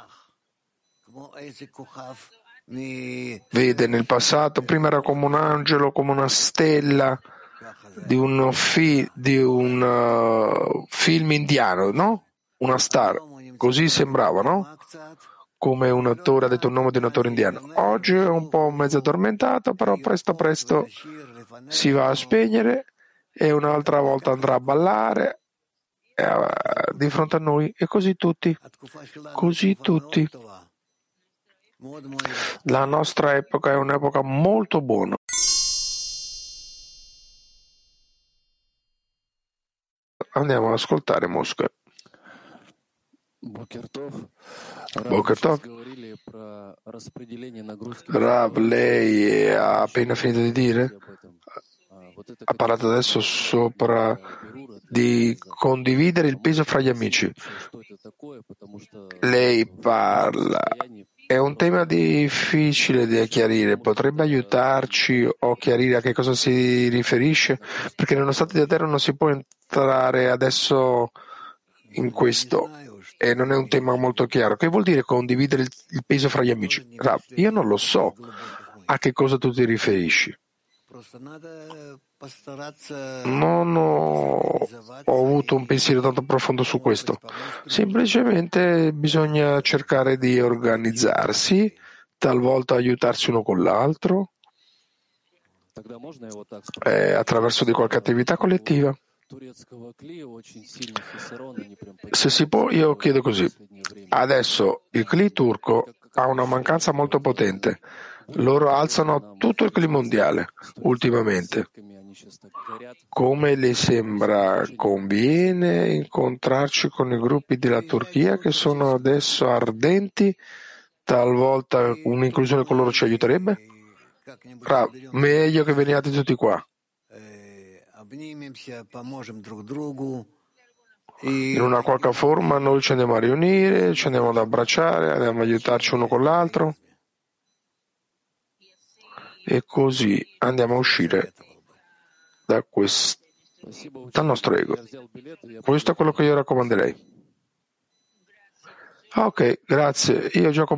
vede nel passato, prima era come un angelo, come una stella di un, fi, di un uh, film indiano, no? Una star, così sembrava, no? Come un attore, ha detto il nome di un attore indiano. Oggi è un po' mezzo addormentato, però presto presto si va a spegnere e un'altra volta andrà a ballare eh, di fronte a noi, e così tutti, così tutti. La nostra epoca è un'epoca molto buona. Andiamo ad ascoltare Mosca. Boker Tov. Rav, lei ha appena finito di dire? Ha parlato adesso sopra di condividere il peso fra gli amici. Lei parla, è un tema difficile da chiarire, potrebbe aiutarci o chiarire a che cosa si riferisce? Perché nello stato di terra non si può entrare adesso in questo e non è un tema molto chiaro. Che vuol dire condividere il, il peso fra gli amici? Rav, io non lo so a che cosa tu ti riferisci. Non ho, ho avuto un pensiero tanto profondo su questo. Semplicemente bisogna cercare di organizzarsi, talvolta aiutarsi uno con l'altro, eh, attraverso di qualche attività collettiva. Se si può, io chiedo così. Adesso il Cli turco ha una mancanza molto potente. Loro alzano tutto il Cli mondiale ultimamente. Come le sembra conviene incontrarci con i gruppi della Turchia che sono adesso ardenti? Talvolta un'inclusione con loro ci aiuterebbe? Ra, meglio che veniate tutti qua. In una qualche forma noi ci andiamo a riunire, ci andiamo ad abbracciare, andiamo ad aiutarci uno con l'altro e così andiamo a uscire da questo, dal nostro ego. Questo è quello che io raccomanderei. Ah, ok, grazie. Io gioco